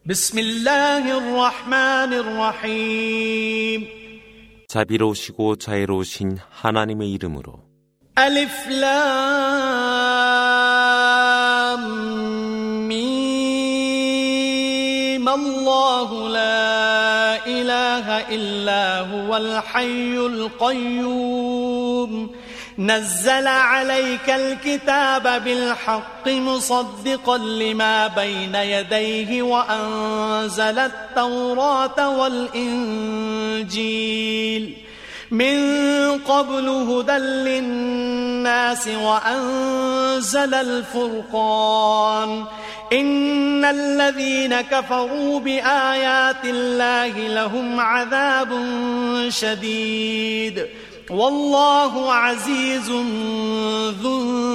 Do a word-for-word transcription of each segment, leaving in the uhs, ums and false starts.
بسم الله الرحمن الرحيم 자비로우시고 자애로우신 하나님의 이름으로 ألف لام ميم الله لا إله إلا هو الحي القيوم نزل عليك الكتاب بالحق مصدقا لما بين يديه وأنزل التوراة والإنجيل من قبل هدى للناس وأنزل الفرقان إن الذين كفروا بآيات الله لهم عذاب شديد والله عزيز ذو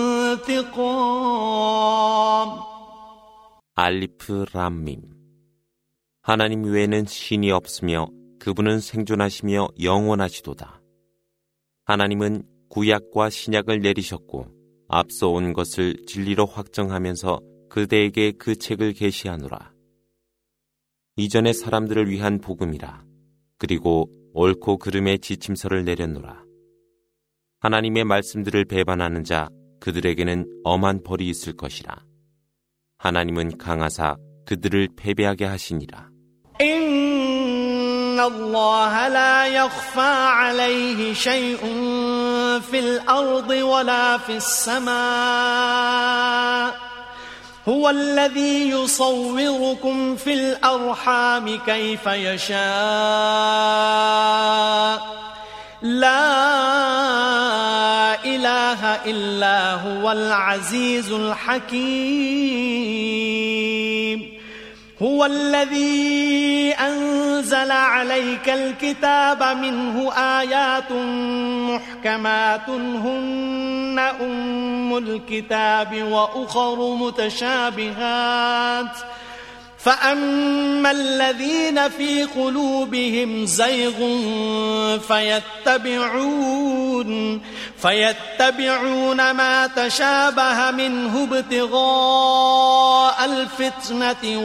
انتقام 알리프 람밈 하나님 외에는 신이 없으며 그분은 생존하시며 영원하시도다. 하나님은 구약과 신약을 내리셨고 앞서 온 것을 진리로 확정하면서 그대에게 그 책을 계시하노라. 이전의 사람들을 위한 복음이라. 그리고 옳고 그름의 지침서를 내렸노라. 하나님의 말씀들을 배반하는 자 그들에게는 엄한 벌이 있을 것이라. 하나님은 강하사 그들을 패배하게 하시니라. إن الله لا يخفى عليه شيء في الأرض ولا في السماء هو الذي يصوركم في الأرحام كيف يشاء لا إله إلا هو العزيز الحكيم هو الذي أنزل عليك الكتاب منه آيات محكمات هن أم الكتاب وأخر متشابهات فأما الذين في قلوبهم زيغ فيتبعون فيتبعون ما تشابه منه ابتغاء الفتنة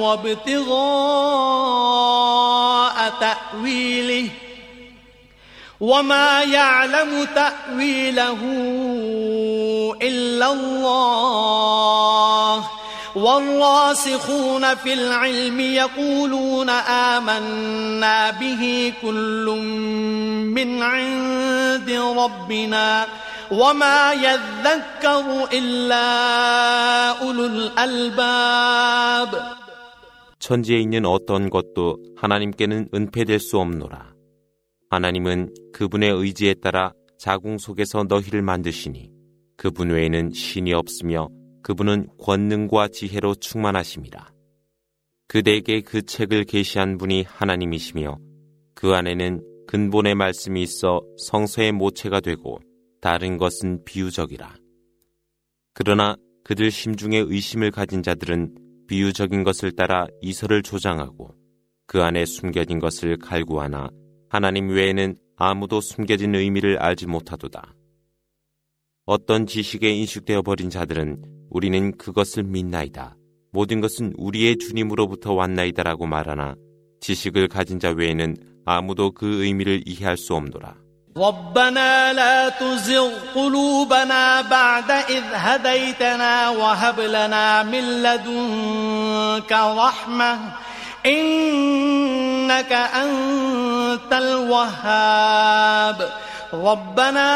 وابتغاء تأويله وما يعلم تأويله إلا الله والراسخون في العلم يقولون آمنا به كل من عند ربنا وما يذكر إلا أولو الألباب 천지에 있는 어떤 것도 하나님께는 은폐될 수 없노라. 하나님은 그분의 의지에 따라 자궁 속에서 너희를 만드시니 그분 외에는 신이 없으며 그분은 권능과 지혜로 충만하심이라. 그대에게 그 책을 계시한 분이 하나님이시며 그 안에는 근본의 말씀이 있어 성서의 모체가 되고 다른 것은 비유적이라. 그러나 그들 심중에 의심을 가진 자들은 비유적인 것을 따라 이설을 조장하고 그 안에 숨겨진 것을 갈구하나 하나님 외에는 아무도 숨겨진 의미를 알지 못하도다. 어떤 지식에 인식되어 버린 자들은 우리는 그것을 믿나이다. 모든 것은 우리의 주님으로부터 왔나이다라고 말하나 지식을 가진 자 외에는 아무도 그 의미를 이해할 수 없노라. ربنا لا تزغ قلوبنا بعد إذ هديتنا وهب لنا من لدنك رحمة إنك أنت الوهاب ربنا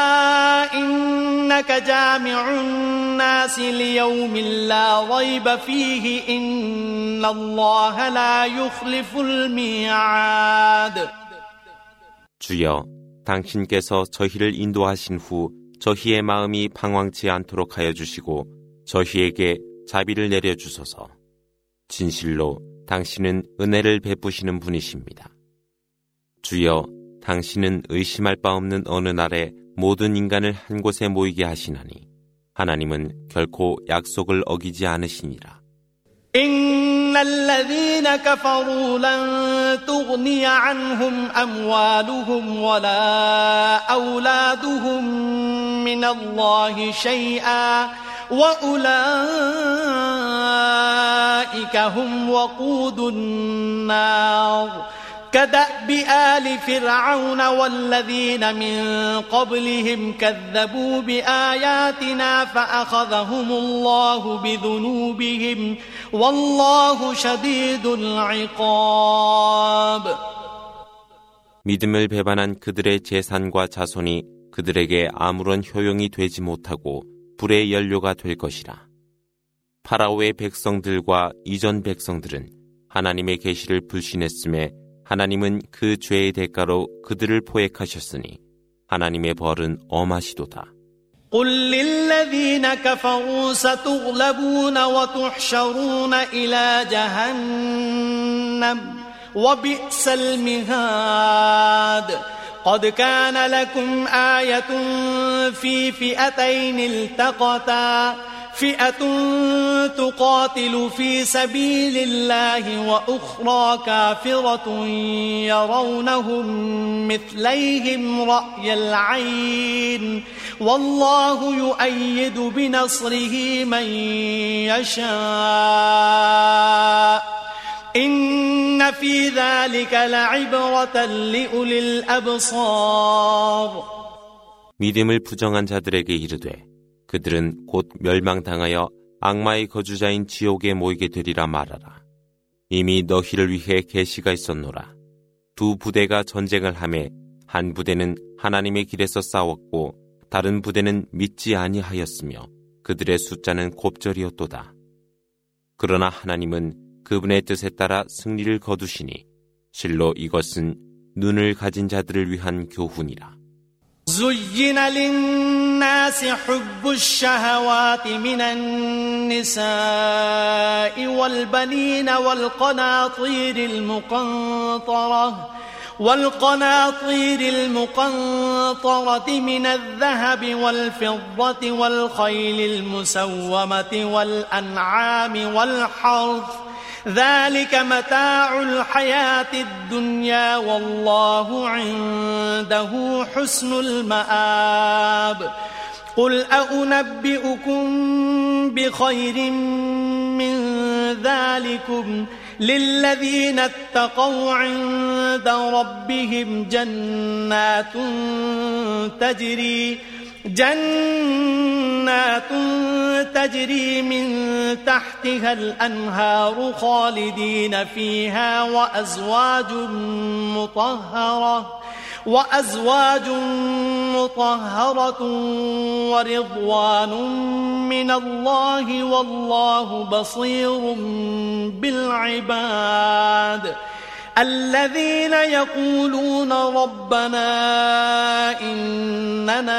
إنك جامع الناس ليوم لا ريب فيه إن الله لا يخلف الميعاد 주여, 당신께서 저희를 인도하신 후 저희의 마음이 방황치 않도록 하여 주시고 저희에게 자비를 내려주소서. 진실로 당신은 은혜를 베푸시는 분이십니다. 주여, 당신은 의심할 바 없는 어느 날에 모든 인간을 한 곳에 모이게 하시나니 하나님은 결코 약속을 어기지 않으시니라. إن الذين كفروا لن تغني عنهم أموالهم ولا أولادهم من الله شيئا وأولئك هم وقود النار كدأب آل فرعون والذين من قبلهم كذبوا بآياتنا فأخذهم الله بذنوبهم والله شديد العقاب. 믿음을 배반한 그들의 재산과 자손이 그들에게 아무런 효용이 되지 못하고 불의 연료가 될 것이라. 파라오의 백성들과 이전 백성들은 하나님의 계시를 불신했음에 하나님은 그 죄의 대가로 그들을 포획하셨으니 하나님의 벌은 엄하시도다. قل للذين كفروا ستغلبون وتحشرون إلى جهنم وبئس المهاد قد كان لكم آية في فئتين التقتا فئة تقاتل في سبيل الله وأخرى كافرة يرونهم مثليهم رأي العين والله يؤيد بنصره من يشاء إن في ذلك لعبرة لأولي الأبصار. 믿음을 부정한 자들에게 이르되 그들은 곧 멸망당하여 악마의 거주자인 지옥에 모이게 되리라 말하라. 이미 너희를 위해 계시가 있었노라. 두 부대가 전쟁을 하매 한 부대는 하나님의 길에서 싸웠고 다른 부대는 믿지 아니하였으며 그들의 숫자는 곱절이었도다. 그러나 하나님은 그분의 뜻에 따라 승리를 거두시니 실로 이것은 눈을 가진 자들을 위한 교훈이라. زين للناس حب الشهوات من النساء والبنين والقناطير المقنطرة والقناطير المقنطرة من الذهب والفضة والخيل المسومة والأنعام والحرث ذلك متاع الحياة الدنيا والله عنده حسن المآب قل أنبئكم بخير من ذلكم للذين اتقوا عند ربهم جنات تجري جنات تجري من تحتها الأنهار خالدين فيها وأزواج مطهرة وأزواج مطهرة ورضوان من الله والله بصير بالعباد الذين يقولون ربنا إننا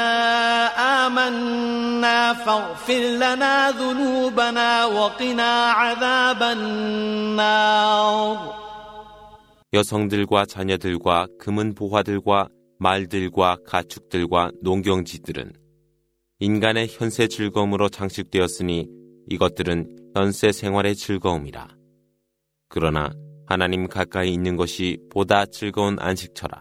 آمنا فاغفر لنا ذنوبنا وقنا عذاب النار. 여성들과 자녀들과 금은 보화들과 말들과 가축들과 농경지들은 인간의 현세 즐거움으로 장식되었으니 이것들은 현세 생활의 즐거움이라. 그러나 하나님 가까이 있는 것이 보다 즐거운 안식처라.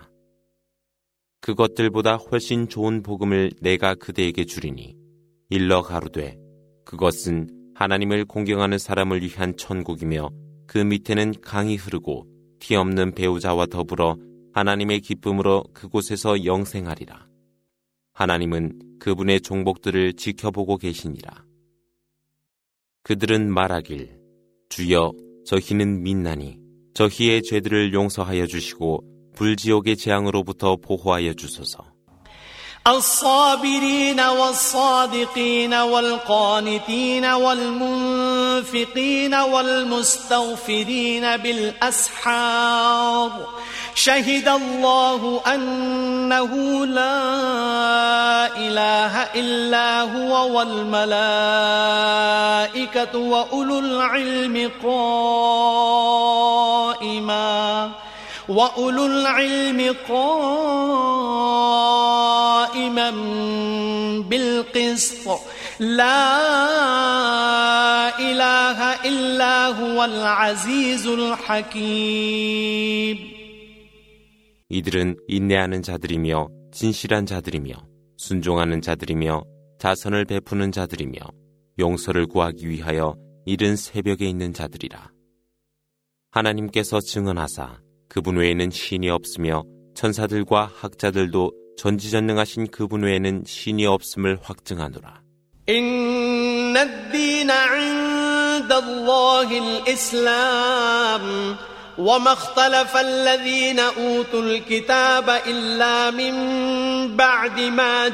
그것들보다 훨씬 좋은 복음을 내가 그대에게 주리니 일러 가로되 그것은 하나님을 공경하는 사람을 위한 천국이며 그 밑에는 강이 흐르고 티 없는 배우자와 더불어 하나님의 기쁨으로 그곳에서 영생하리라. 하나님은 그분의 종복들을 지켜보고 계시니라. 그들은 말하길 주여 저희는 믿나니 저희의 죄들을 용서하여 주시고 불지옥의 재앙으로부터 보호하여 주소서. الصابرين والصادقين والقانتين والمنفقين والمستغفرين بالأسحار شهد الله أنه لا إله إلا هو والملائكة وأولو العلم قائما وأولو العلم قائما بالقسط لا إله إلا هو العزيز الحكيم. 이들은 인내하는 자들이며 진실한 자들이며 순종하는 자들이며 자선을 베푸는 자들이며 용서를 구하기 위하여 이른 새벽에 있는 자들이라. 하나님께서 증언하사 그분 외에는 신이 없으며 천사들과 학자들도 전지전능하신 그분 외에는 신이 없음을 확증하노라. إن الدين عند الله الإسلام وما اختلف الذين أوتوا الكتاب إلا من بعد ما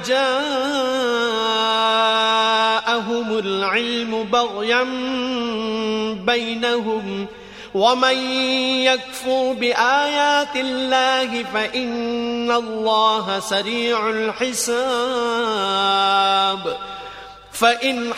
جاءهم العلم بغيا بينهم ومن يكفر بآيات الله فإن الله سريع الحساب فإن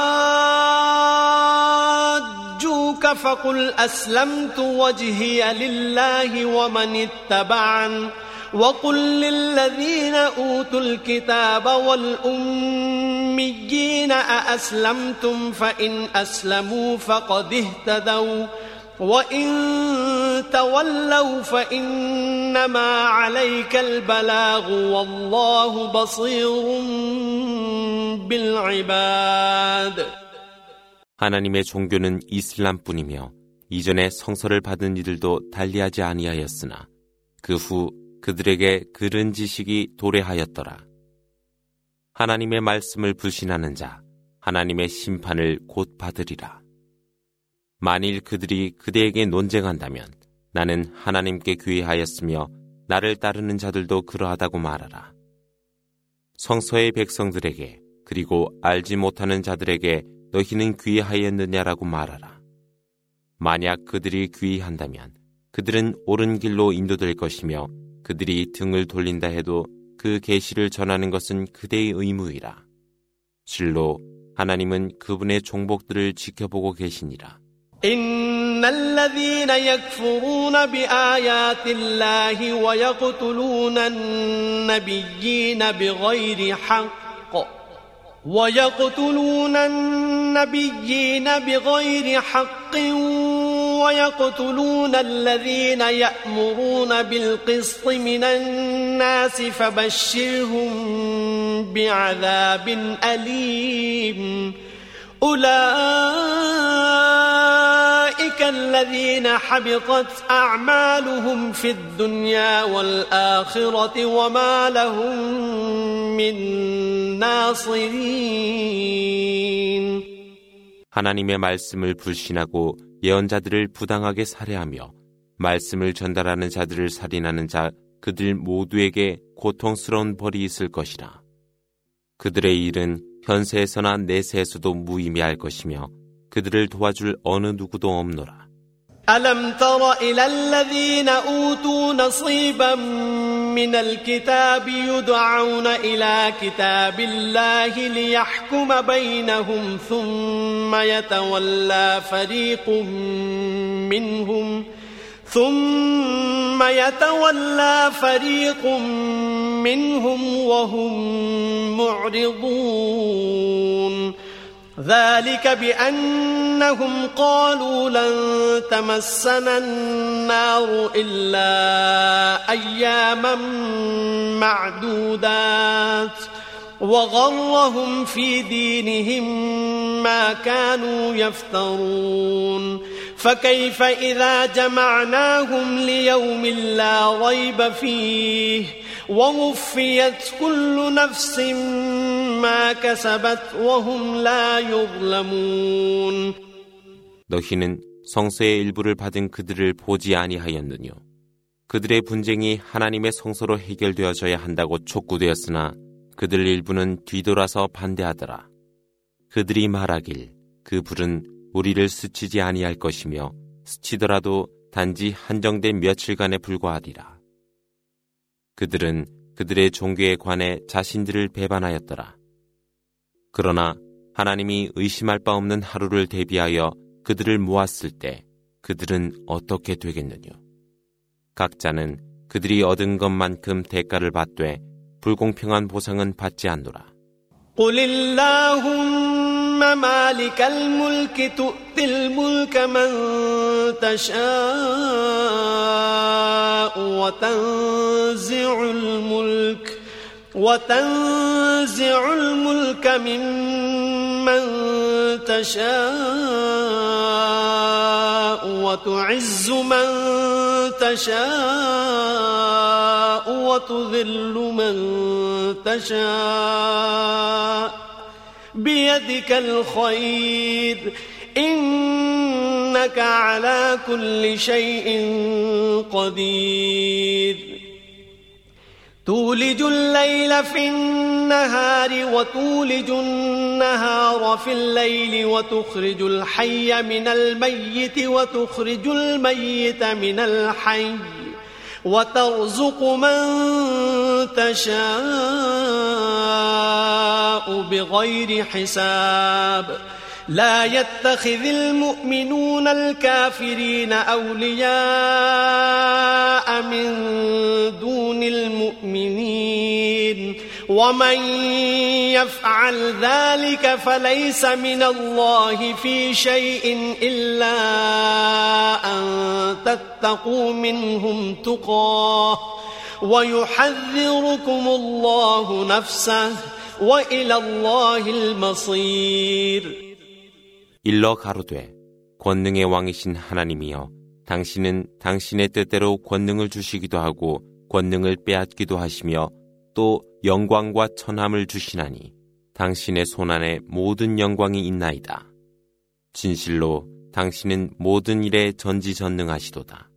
حاجوك فقل أسلمت وجهي لله ومن اتبعن وقل للذين أوتوا الكتاب والأميين أأسلمتم فإن أسلموا فقد اهتدوا وإن تولوا فإنما عليك البلاغ والله بصير بالعباد. 하나님의 종교는 이슬람뿐이며 이전에 성서를 받은 이들도 달리하지 아니하였으나 그 후 그들에게 그른 지식이 도래하였더라. 하나님의 말씀을 불신하는 자 하나님의 심판을 곧 받으리라. 만일 그들이 그대에게 논쟁한다면 나는 하나님께 귀의하였으며 나를 따르는 자들도 그러하다고 말하라. 성서의 백성들에게 그리고 알지 못하는 자들에게 너희는 귀의하였느냐라고 말하라. 만약 그들이 귀의한다면 그들은 옳은 길로 인도될 것이며 그들이 등을 돌린다 해도 그 계시를 전하는 것은 그대의 의무이라. 실로 하나님은 그분의 종복들을 지켜보고 계시니라. إن الذين يكفرون بآيات الله ويقتلون النبيين بغير حق ويقتلون النبيين بغير حق ويقتلون الذين يأمرون بالقسط من الناس فبشرهم بعذاب أليم أولئك الذين حبطت أعمالهم في الدنيا والآخرة وما لهم من ناصرين. 하나님의 말씀을 불신하고 예언자들을 부당하게 살해하며 말씀을 전달하는 자들을 살인하는 자 그들 모두에게 고통스러운 벌이 있을 것이라. 그들의 일은 현세에서나 내세에서도 무의미할 것이며 그들을 도와줄 어느 누구도 없노라. ألم تر إلى الذين أوتوا نصيبا من الكتاب يدعون إلى كتاب الله ليحكم بينهم ثم يتولى فريق منهم ثم يتولى فريق منهم وهم معرضون ذلك بأنهم قالوا لن تمسنا النار إلا أياما معدودات وغرهم في دينهم ما كانوا يفترون فكيف إذا جمعناهم ليوم لا ريب فيه ووفيت كل نفس ما كسبت وهم لا يظلمون. 너희는 성서의 일부를 받은 그들을 보지 아니하였느뇨. 그들의 분쟁이 하나님의 성서로 해결되어져야 한다고 촉구되었으나 그들 일부는 뒤돌아서 반대하더라. 그들이 말하길 그 불은 우리를 스치지 아니할 것이며 스치더라도 단지 한정된 며칠간에 불과하리라. 그들은 그들의 종교에 관해 자신들을 배반하였더라. 그러나 하나님이 의심할 바 없는 하루를 대비하여 그들을 모았을 때 그들은 어떻게 되겠느냐. 각자는 그들이 얻은 것만큼 대가를 받되 불공평한 보상은 받지 않노라. قل اللهم مالك الملك تؤتي الملك من تشاء وتنزع الملك وتنزع الملك ممن من تشاء وتعز من تشاء وتذل من تشاء بيدك الخير إنك على كل شيء قدير تولج الليل في النهار وتولج النهار في الليل وتخرج الحي من الميت وتخرج الميت من الحي وترزق من تشاء بغير حساب لا يتخذ المؤمنون الكافرين أولياء من دون المؤمنين ومن يفعل ذلك فليس من الله في شيء إلا أن تتقوا منهم تقاه ويحذركم الله نفسه وإلى الله المصير 일러 가로되 권능의 왕이신 하나님이여 당신은 당신의 뜻대로 권능을 주시기도 하고 권능을 빼앗기도 하시며 또 영광과 천함을 주시나니 당신의 손안에 모든 영광이 있나이다. 진실로 당신은 모든 일에 전지전능하시도다.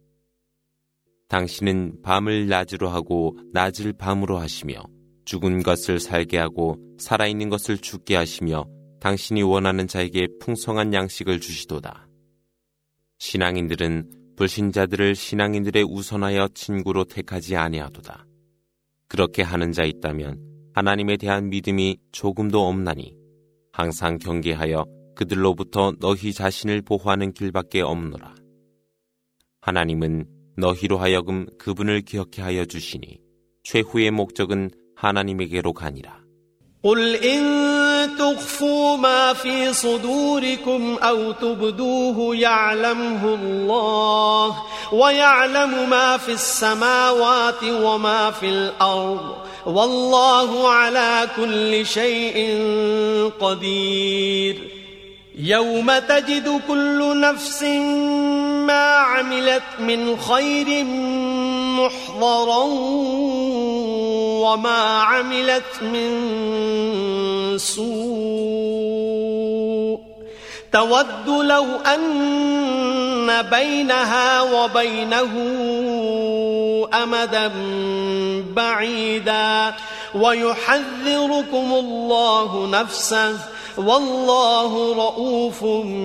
당신은 밤을 낮으로 하고 낮을 밤으로 하시며 죽은 것을 살게 하고 살아있는 것을 죽게 하시며 당신이 원하는 자에게 풍성한 양식을 주시도다. 신앙인들은 불신자들을 신앙인들의 우선하여 친구로 택하지 아니하도다. 그렇게 하는 자 있다면 하나님에 대한 믿음이 조금도 없나니 항상 경계하여 그들로부터 너희 자신을 보호하는 길밖에 없노라. 하나님은 너희로 하여금 그분을 기억해 하여 주시니 최후의 목적은 하나님에게로 가니라. قل إن تخفوا ما في صدوركم أو تبدوه يعلمه الله ويعلم ما في السماوات وما في الأرض والله على كل شيء قدير يوم تجد كل نفس ما عملت من خير محضرا وما عملت من سوء تود لو أن بينها وبينه أمدا بعيدا ويحذركم الله نفسه والله رؤوف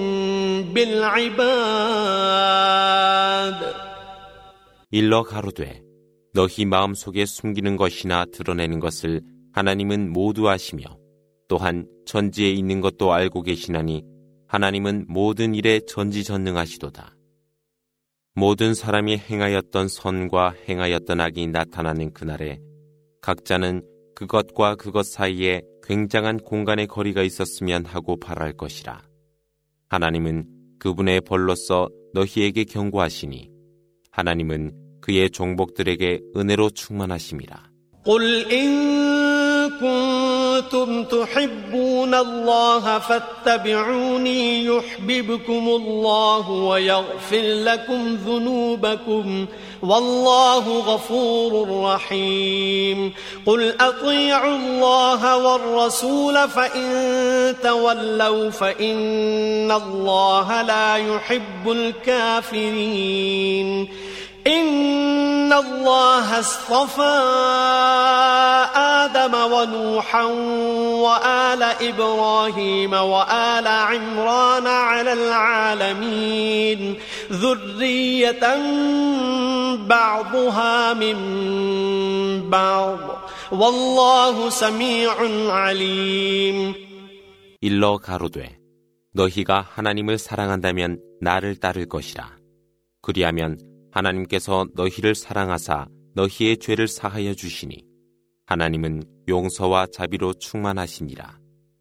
بالعباد 일러 가로되 너희 마음속에 숨기는 것이나 드러내는 것을 하나님은 모두 아시며 또한 천지에 있는 것도 알고 계시나니 하나님은 모든 일에 전지전능하시도다. 모든 사람이 행하였던 선과 행하였던 악이 나타나는 그날에 각자는 그것과 그것 사이에 굉장한 공간의 거리가 있었으면 하고 바랄 것이라. 하나님은 그분의 벌로서 너희에게 경고하시니 하나님은 그의 종복들에게 은혜로 충만하심이라. قل إن كنتم تحبون الله فاتبعوني يحببكم الله ويغفر لكم ذنوبكم والله غفور رحيم قل أطيعوا الله والرسول فإن تولوا فإن الله لا يحب الكافرين إن الله اصطفى آدم ونوحا وآل إبراهيم وآل عمران على العالمين ذرية بعضها من بعض والله سميع عليم 일러 가로되 너희가 하나님을 사랑한다면 나를 따를 것이라. 그리하면 하나님께서 너희를 사랑하사 너희의 죄를 사하여 주시니 하나님은 용서와 자비로 충만하시니라.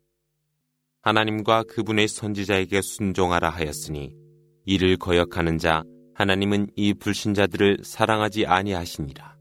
하나님과 그분의 선지자에게 순종하라 하였으니 이를 거역하는 자 하나님은 이 불신자들을 사랑하지 아니하시니라.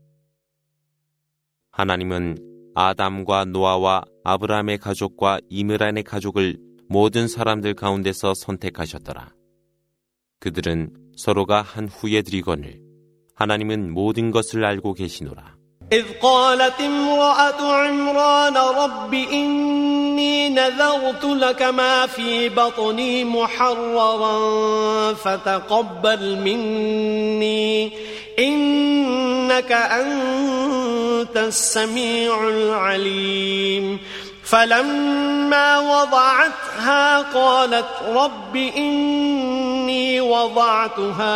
하나님은 아담과 노아와 아브라함의 가족과 이므란의 가족을 모든 사람들 가운데서 선택하셨더라. 그들은 서로가 한 후에 드리거늘 하나님은 모든 것을 알고 계시노라. إذ قالت امرأة عمران رب إني نذرت لك ما في بطني محررا فتقبل مني إنك أنت السميع العليم فلما وضعتها قالت رب إني وضعتها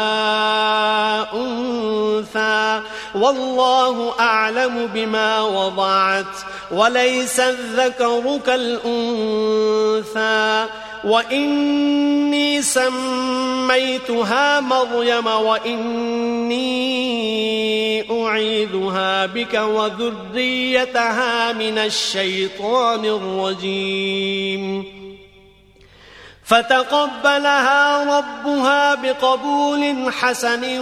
أنثى والله أعلم بما وضعت وليس الذكر كالأنثى وإني سميتها مريم وإني أعيذها بك وذريتها من الشيطان الرجيم فتقبلها ربها بقبول حسن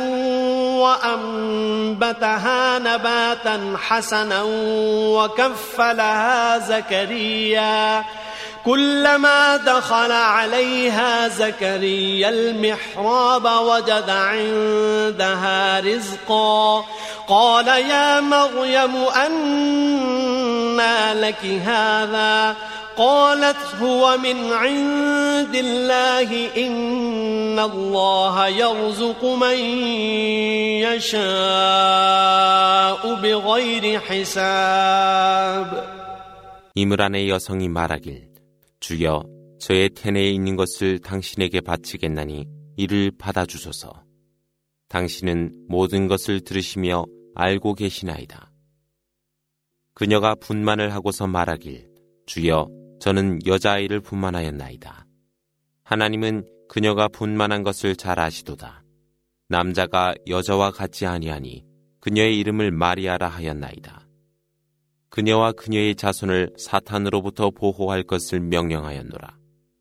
وأنبتها نباتا حسنا وكفلها زكريا كلما دخل عليها زكريا المحراب وجد عندها رزقا قال يا مريم أنى لك هذا قالت هو من عند الله إن الله يرزق من يشاء بغير حساب. 이므란의 여성이 말하길 주여 저의 태내에 있는 것을 당신에게 바치겠나니 이를 받아주소서. 당신은 모든 것을 들으시며 알고 계시나이다. 그녀가 분만을 하고서 말하길 주여 저는 여자아이를 분만하였나이다. 하나님은 그녀가 분만한 것을 잘 아시도다. 남자가 여자와 같지 아니하니 그녀의 이름을 마리아라 하였나이다. 그녀와 그녀의 자손을 사탄으로부터 보호할 것을 명령하였노라.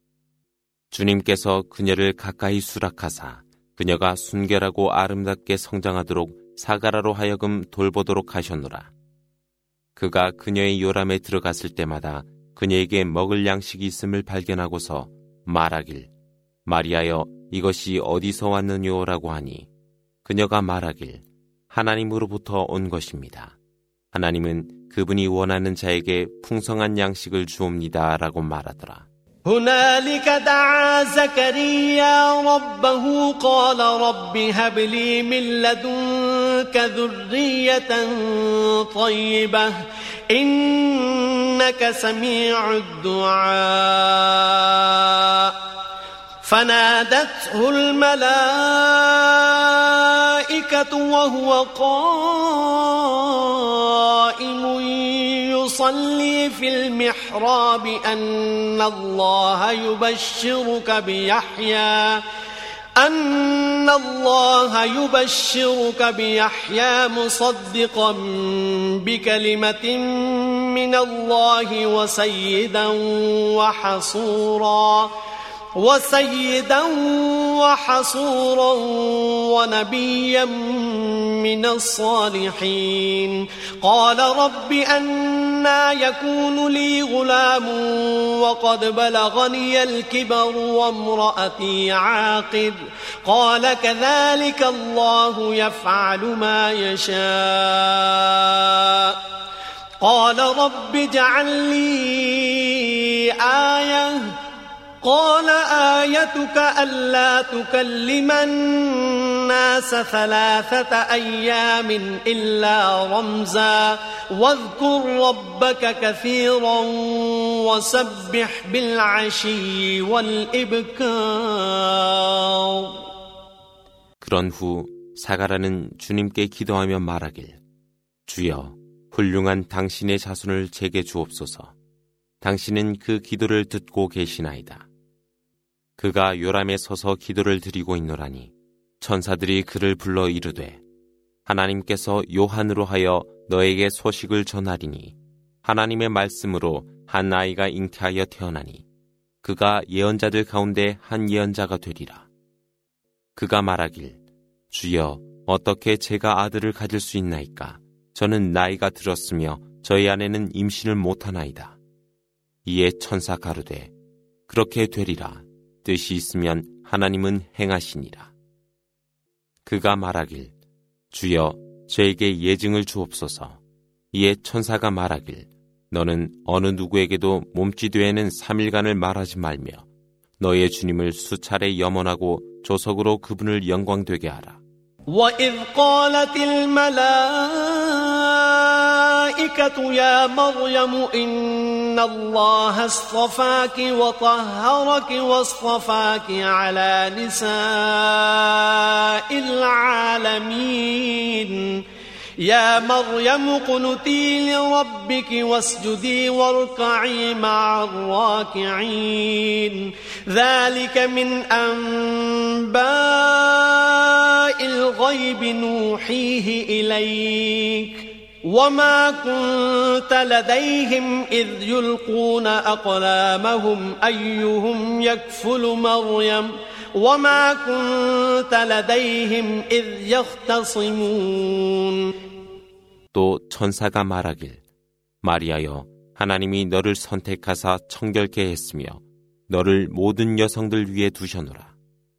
주님께서 그녀를 가까이 수락하사 그녀가 순결하고 아름답게 성장하도록 사가라로 하여금 돌보도록 하셨노라. 그가 그녀의 요람에 들어갔을 때마다 그녀에게 먹을 양식이 있음을 발견하고서 말하길 마리아여 이것이 어디서 왔느냐라고 하니 그녀가 말하길 하나님으로부터 온 것입니다. 하나님은 그분이 원하는 자에게 풍성한 양식을 주옵니다 라고 말하더라. هنالك دعا زكريا ربه قال رب هب لي من لدنك ذرية طيبة إنك سميع الدعاء فنادته الملائكة وهو قائم يصلي في المحراب أن الله يبشرك بيحيى أن الله يبشرك بيحيى مصدقا بكلمة من الله وسيدا وحصورا وسيدا وحصورا ونبيا من الصالحين قال رب أنى يكون لي غلام وقد بلغني الكبر وامرأتي عاقر قال كذلك الله يفعل ما يشاء قال رب اجعل لي آية قال آيتك ألا تكلم الناس ثلاثة أيام إلا رمزا واذكر ربك كثيرا وسبح بالعشي والإبكار. 그런 후 사가라는 주님께 기도하며 말하길 주여 훌륭한 당신의 자손을 제게 주옵소서. 당신은 그 기도를 듣고 계시나이다. 그가 요람에 서서 기도를 드리고 있노라니 천사들이 그를 불러 이르되 하나님께서 요한으로 하여 너에게 소식을 전하리니 하나님의 말씀으로 한 아이가 잉태하여 태어나니 그가 예언자들 가운데 한 예언자가 되리라. 그가 말하길 주여 어떻게 제가 아들을 가질 수 있나이까? 저는 나이가 들었으며 저희 아내는 임신을 못하나이다. 이에 천사 가로되 그렇게 되리라. 뜻이 있으면 하나님은 행하시니라. 그가 말하길 주여 저에게 예증을 주옵소서. 이에 천사가 말하길 너는 어느 누구에게도 몸짓외에는 삼 일간을 말하지 말며 너의 주님을 수차례 염원하고 조석으로 그분을 영광되게 하라. وَإِذْ قَالَتِ الْمَلَائِكَةُ يَا مَرْيَمُ إِنَّ اللَّهَ اصْطَفَاكِ وَطَهَّرَكِ وَاصْطَفَاكِ عَلَى نِسَاءِ الْعَالَمِينَ يا مريم اقنتي لربك واسجدي واركعي مع الراكعين ذلك من أنباء الغيب نوحيه إليك وما كنت لديهم إذ يلقون أقلامهم أيهم يكفل مريم وما كنت لديهم إذ يختصمون. 또 천사가 말하길 마리아여 하나님이 너를 선택하사 청결케 했으며 너를 모든 여성들 위에 두셔노라.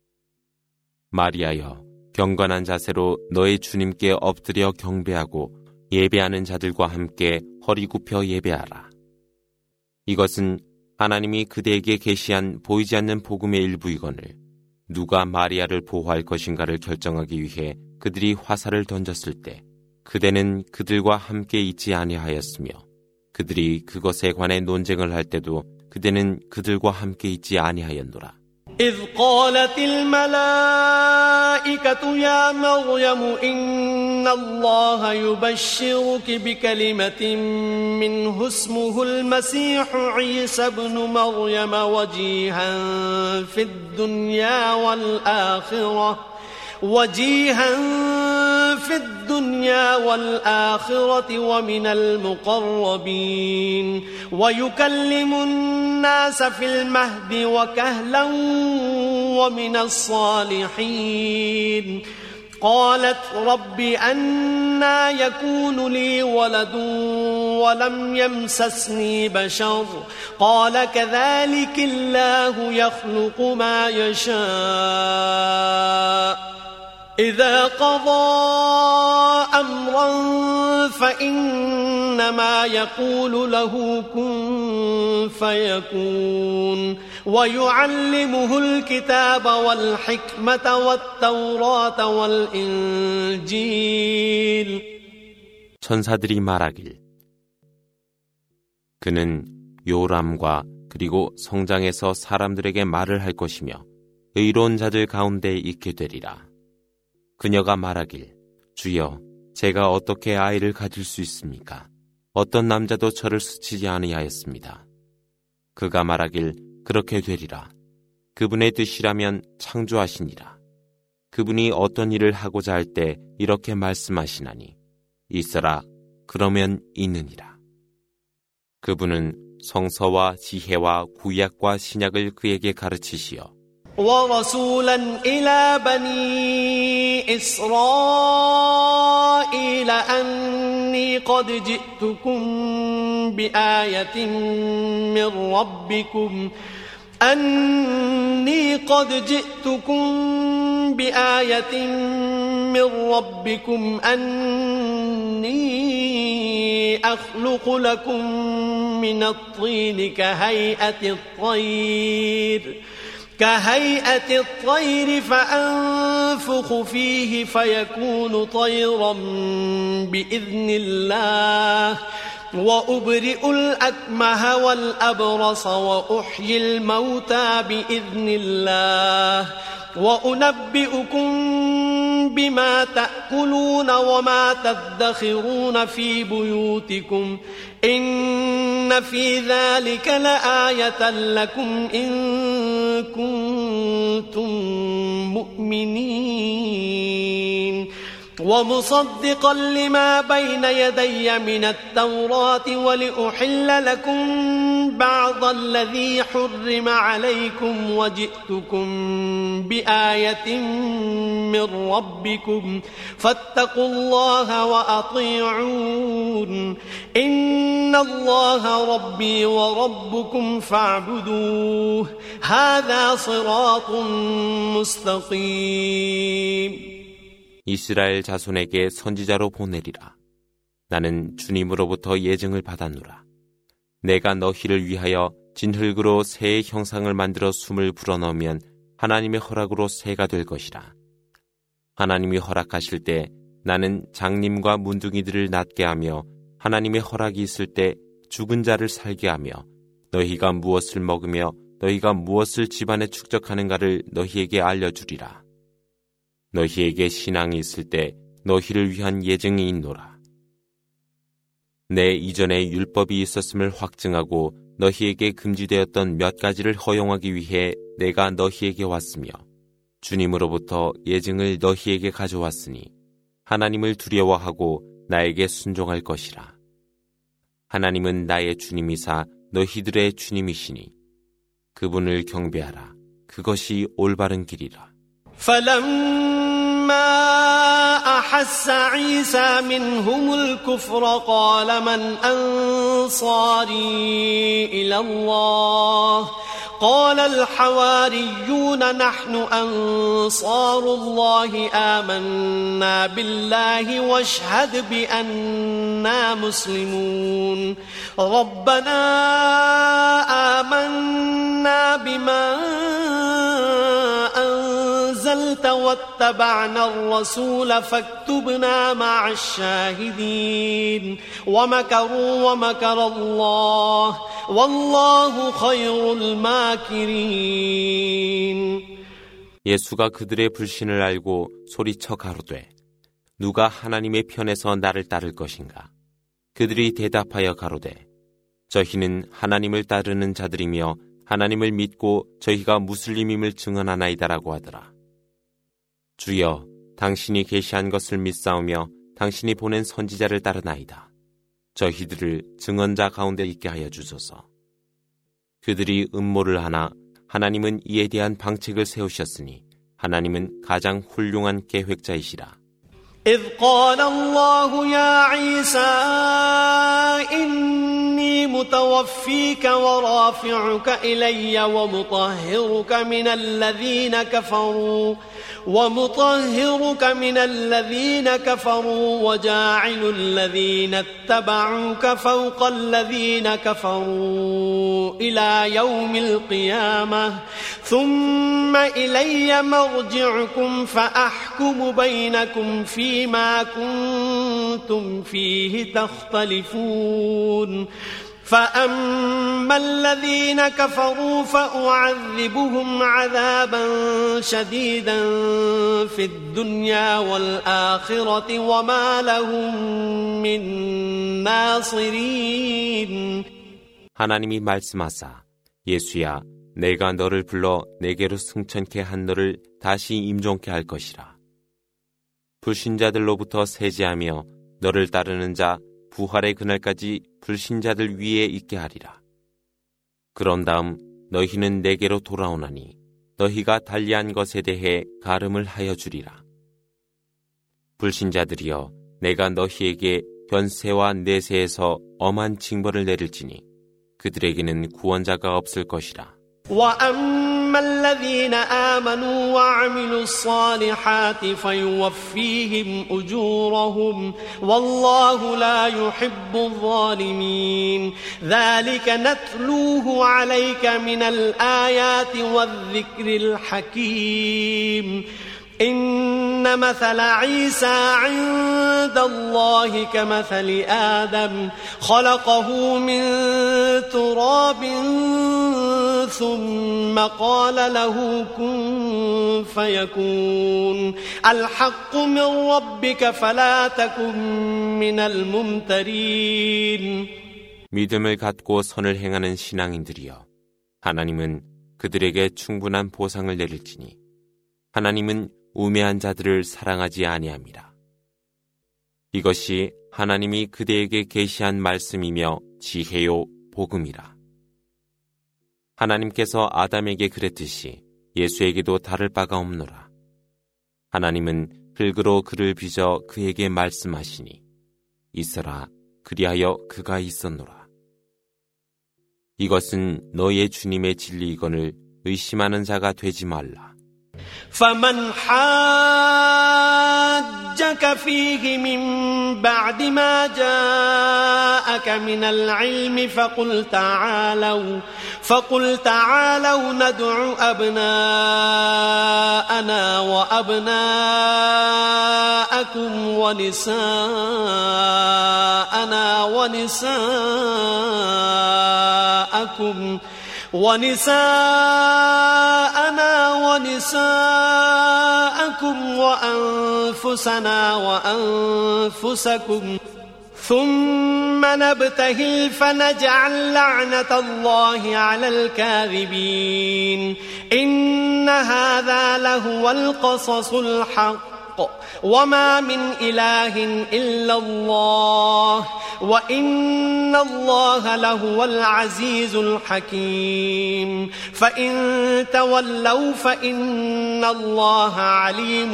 마리아여 경건한 자세로 너의 주님께 엎드려 경배하고 예배하는 자들과 함께 허리 굽혀 예배하라. 이것은 하나님이 그대에게 계시한 보이지 않는 복음의 일부이거늘 누가 마리아를 보호할 것인가를 결정하기 위해 그들이 화살을 던졌을 때 그대는 그들과 함께 있지 아니하였으며 그들이 그것에 관해 논쟁을 할 때도 그대는 그들과 함께 있지 아니하였노라. إذ قالت الملائكة يا مريم إن الله يبشرك بكلمة منه اسمه المسيح عيسى ابن مريم وجيها في الدنيا والآخرة وجيها في الدنيا والآخرة ومن المقربين ويكلم الناس في المهد وكهلا ومن الصالحين قالت رب أنى يكون لي ولد ولم يمسسني بشر قال كذلك الله يخلق ما يشاء إذا قضى أمرا فإنما يقول له كن فيكون ويعلمه الكتاب والحكمة والتوراة والإنجيل. 천사들이 말하길 그는 요람과 그리고 성장해서 사람들에게 말을 할 것이며 의로운 자들 가운데 있게 되리라. 그녀가 말하길 주여 제가 어떻게 아이를 가질 수 있습니까? 어떤 남자도 저를 스치지 아니하였습니다. 그가 말하길 그렇게 되리라. 그분의 뜻이라면 창조하시니라. 그분이 어떤 일을 하고자 할 때 이렇게 말씀하시나니 있어라 그러면 있느니라. 그분은 성서와 지혜와 구약과 신약을 그에게 가르치시어 ورسولا إلى بني إسرائيل أني قد جئتكم بآية من ربكم أني قد جئتكم بآية من ربكم أني أخلق لكم من الطين كهيئة الطير كهيئة الطير فأنفخ فيه فيكون طيرا بإذن الله وأبرئ الأكمه والأبرص وأحيي الموتى بإذن الله وأنبئكم بما تأكلون وما تدخرون في بيوتكم إن في ذلك لآية لكم إن كنتم مؤمنين ومصدقا لما بين يدي من التوراة ولأحل لكم بعض الذي حرم عليكم وجئتكم بآية من ربكم فاتقوا الله وأطيعون إن الله ربي وربكم فاعبدوه هذا صراط مستقيم. 이스라엘 자손에게 선지자로 보내리라. 나는 주님으로부터 예증을 받았노라. 내가 너희를 위하여 진흙으로 새의 형상을 만들어 숨을 불어넣으면 하나님의 허락으로 새가 될 것이라. 하나님이 허락하실 때 나는 장님과 문둥이들을 낫게 하며 하나님의 허락이 있을 때 죽은 자를 살게 하며 너희가 무엇을 먹으며 너희가 무엇을 집안에 축적하는가를 너희에게 알려주리라. 너희에게 신앙이 있을 때 너희를 위한 예증이 있노라. 내 이전에 율법이 있었음을 확증하고 너희에게 금지되었던 몇 가지를 허용하기 위해 내가 너희에게 왔으며 주님으로부터 예증을 너희에게 가져왔으니 하나님을 두려워하고 나에게 순종할 것이라. 하나님은 나의 주님이사 너희들의 주님이시니 그분을 경배하라. 그것이 올바른 길이라. فلما أحس عيسى منهم الكفر قال من أنصاري إلى الله قال الحواريون نحن أنصار الله آمنا بالله واشهد بأننا مسلمون ربنا آمنا بما أنزلت واتبعنا الرسول فاكتبنا مع الشاهدين ومكروا ومكر الله والله خير الماكرين. 예수가 그들의 불신을 알고 소리쳐 가로되 누가 하나님의 편에서 나를 따를 것인가? 그들이 대답하여 가로되 저희는 하나님을 따르는 자들이며 하나님을 믿고 저희가 무슬림임을 증언하나이다라고 하더라. 주여, 당신이 계시한 것을 믿사오며 당신이 보낸 선지자를 따르나이다. 저희들을 증언자 가운데 있게 하여 주소서. 그들이 음모를 하나 하나님은 이에 대한 방책을 세우셨으니 하나님은 가장 훌륭한 계획자이시라. إذ قال الله يا عيسى إني متوفيك ورافعك إلي ومطهرك من الذين كفروا ومطهرك من الذين كفروا وجاعل الذين اتبعوك فوق الذين كفروا إلى يوم القيامة ثم إلي مرجعكم فأحكم بينكم فيما كنتم فيه تختلفون فأما الذين كفروا فأعذبهم عذابا شديدا في الدنيا والآخرة وما لهم من ناصرين. 하나님이 말씀하사 예수야 내가 너를 불러 내게로 승천케 한 너를 다시 임종케 할 것이라. 불신자들로부터 세제하며 너를 따르는 자 부활의 그날까지 불신자들 위에 있게 하리라. 그런 다음 너희는 내게로 돌아오나니 너희가 달리한 것에 대해 가름을 하여 주리라. 불신자들이여 내가 너희에게 현세와 내세에서 엄한 징벌을 내릴지니 그들에게는 구원자가 없을 것이라. وأما الذين آمنوا وعملوا الصالحات فيوفيهم أجورهم والله لا يحب الظالمين ذلك نتلوه عليك من الآيات والذكر الحكيم إن مثل عيسى عند الله كمثل آدم خلقه من تراب ثم قال له كن فيكون الحق من ربك فلا تكن من الممترين. 믿음을 갖고 선을 행하는 신앙인들이여 하나님은 그들에게 충분한 보상을 내릴지니 하나님은 우매한 자들을 사랑하지 아니함이라. 이것이 하나님이 그대에게 계시한 말씀이며 지혜요 복음이라. 하나님께서 아담에게 그랬듯이 예수에게도 다를 바가 없노라. 하나님은 흙으로 그를 빚어 그에게 말씀하시니 있어라, 그리하여 그가 있었노라. 이것은 너의 주님의 진리이거늘 의심하는 자가 되지 말라. فمن حاجك فيه من بعد ما جاءك من العلم فقل تعالوا فقل تعالوا ندع أبناءنا وأبناءكم ونساءنا ونساءكم ونساءنا ونساءكم وأنفسنا وأنفسكم ثم نبتهل فنجعل لعنة الله على الكاذبين إن هذا لهو القصص الحق وما من إله إلا الله وإن الله لهو العزيز الحكيم فإن تولوا فإن الله عليم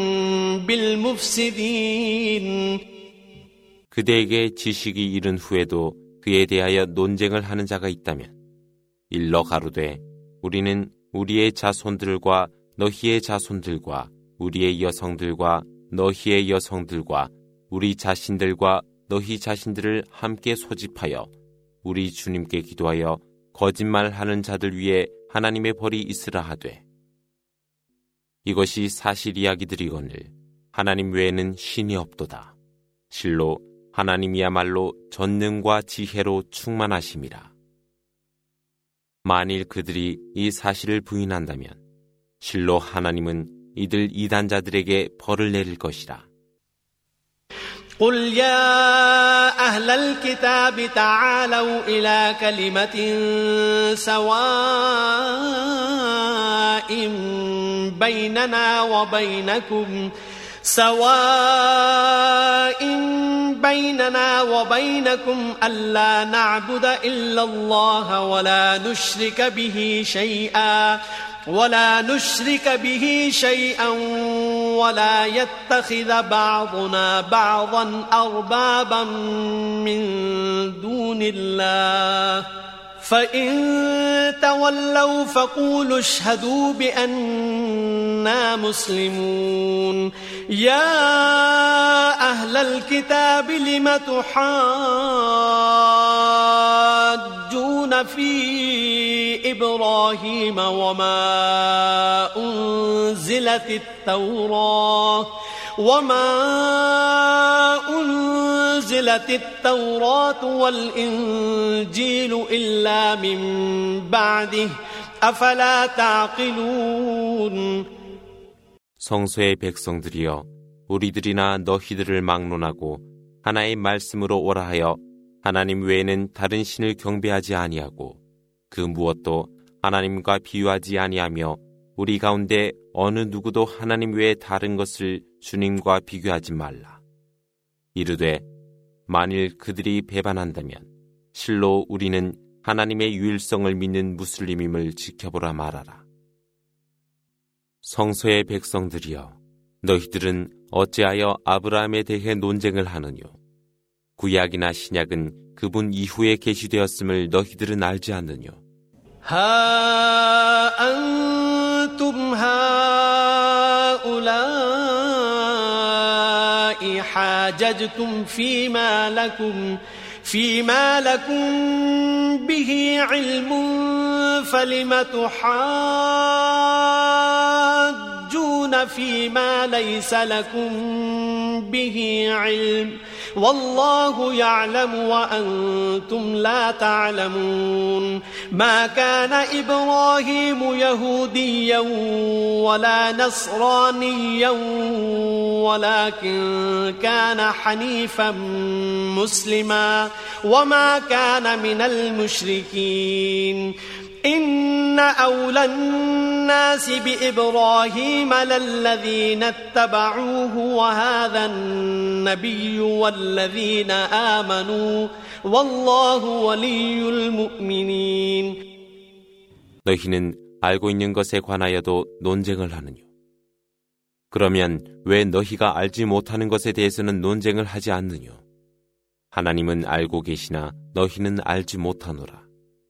بالمفسدين. 그대에게 지식이 이른 후에도 그에 대하여 논쟁을 하는 자가 있다면 일러 가로되 우리는 우리의 자손들과 너희의 자손들과 우리의 여성들과 너희의 여성들과 우리 자신들과 너희 자신들을 함께 소집하여 우리 주님께 기도하여 거짓말하는 자들 위에 하나님의 벌이 있으라 하되 이것이 사실 이야기들이거늘 하나님 외에는 신이 없도다. 실로 하나님이야말로 전능과 지혜로 충만하심이라. 만일 그들이 이 사실을 부인한다면 실로 하나님은 이들 이단자들에게 벌을 내릴 것이라. قل يا أهل الكتاب تعالوا إلى كلمة سواء بيننا وبينكم سواء بيننا وبينكم ألا نعبد إلا الله ولا نشرك به شيئا ولا نشرك به شيئا ولا يتخذ بعضنا بعضا أربابا من دون الله فإن تولوا فقولوا اشهدوا بأننا مسلمون. يا أهل الكتاب لم تحاجون في إبراهيم وما أنزلت التوراة وما أنزلت التوراة والإنجيل إلا من بعده أفلا تعقلون. 성소의 백성들이여 우리들이나 너희들을 막론하고 하나의 말씀으로 오라 하여 하나님 외에는 다른 신을 경배하지 아니하고 그 무엇도 하나님과 비유하지 아니하며 우리 가운데 어느 누구도 하나님 외에 다른 것을 주님과 비교하지 말라. 이르되 만일 그들이 배반한다면 실로 우리는 하나님의 유일성을 믿는 무슬림임을 지켜보라 말하라. 성소의 백성들이여 너희들은 어찌하여 아브라함에 대해 논쟁을 하느뇨. 구약이나 신약은 그분 이후에 계시되었음을 너희들은 알지 않느뇨. ها أنتم هؤلاء حاججتم فيما لكم فيما لكم به علم فلم تحاجون فيما ليس لكم به علم والله يعلم وأنتم لا تعلمون. ما كان إبراهيم يهوديا ولا نصرانيا ولكن كان حنيفا مسلما وما كان من المشركين. إن أولى الناس بإبراهيم للذين اتبعوه وهذا النبي والذين آمنوا والله ولي المؤمنين. 너희는 알고 있는 것에 관하여도 논쟁을 하느뇨. 그러면 왜 너희가 알지 못하는 것에 대해서는 논쟁을 하지 않느뇨? 하나님은 알고 계시나 너희는 알지 못하노라.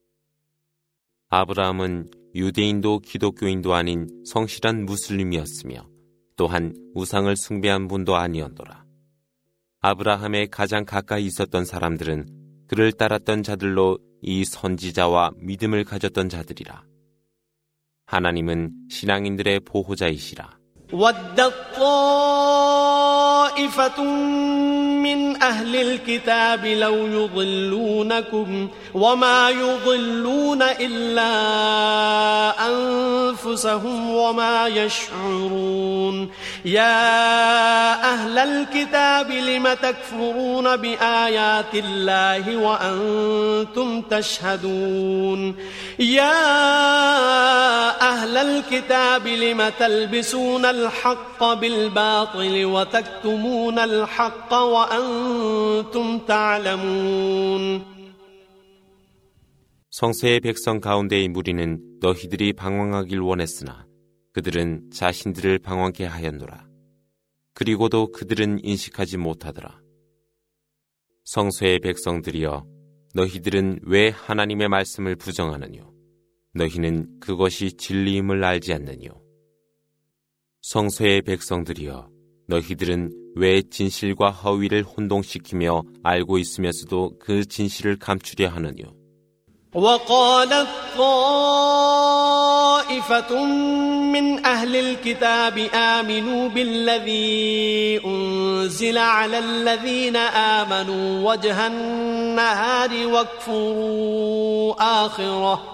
아브라함은 유대인도 기독교인도 아닌 성실한 무슬림이었으며 또한 우상을 숭배한 분도 아니었노라. 아브라함의 가장 가까이 있었던 사람들은 그를 따랐던 자들로 이 선지자와 믿음을 가졌던 자들이라. 하나님은 신앙인들의 보호자이시라. ودت طائفة من أهل الكتاب لو يضلونكم وما يضلون إلا أنفسهم وما يشعرون يا أهل الكتاب لم تكفرون بآيات الله وأنتم تشهدون يا أهل الكتاب لم تلبسون الحق بالباطل وتكتمون الحق وأنتم تعلمون. 성서의 백성 가운데의 무리는 너희들이 방황하길 원했으나 그들은 자신들을 방황케 하였노라. 그리고도 그들은 인식하지 못하더라. 성서의 백성들이여, 너희들은 왜 하나님의 말씀을 부정하느뇨? 너희는 그것이 진리임을 알지 않느뇨? 성서의 백성들이여, 너희들은 왜 진실과 허위를 혼동시키며 알고 있으면서도 그 진실을 감추려 하느뇨? وقالت طائفة من أهل الكتاب آمنوا بالذي أنزل على الذين آمنوا وجه النهار واكفروا آخره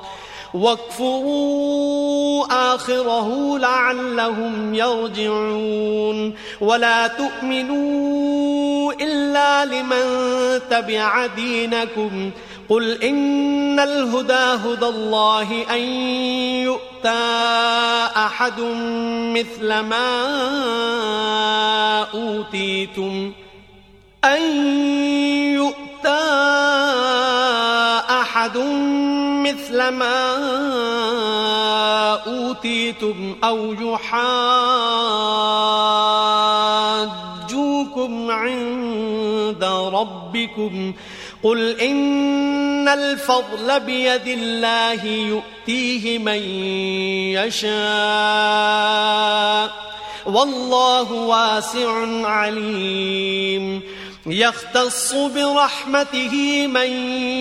واكفروا آخره لعلهم يرجعون ولا تؤمنوا إلا لمن تبع دينكم قل إن الهدى هدى الله أن يؤتى أحد مثل ما أوتيتم أن يؤتى أحد مثل ما أوتيتم أو يحاجوكم عند ربكم قل إن الفضل بيد الله يؤتيه من يشاء والله واسع عليم يختص برحمته من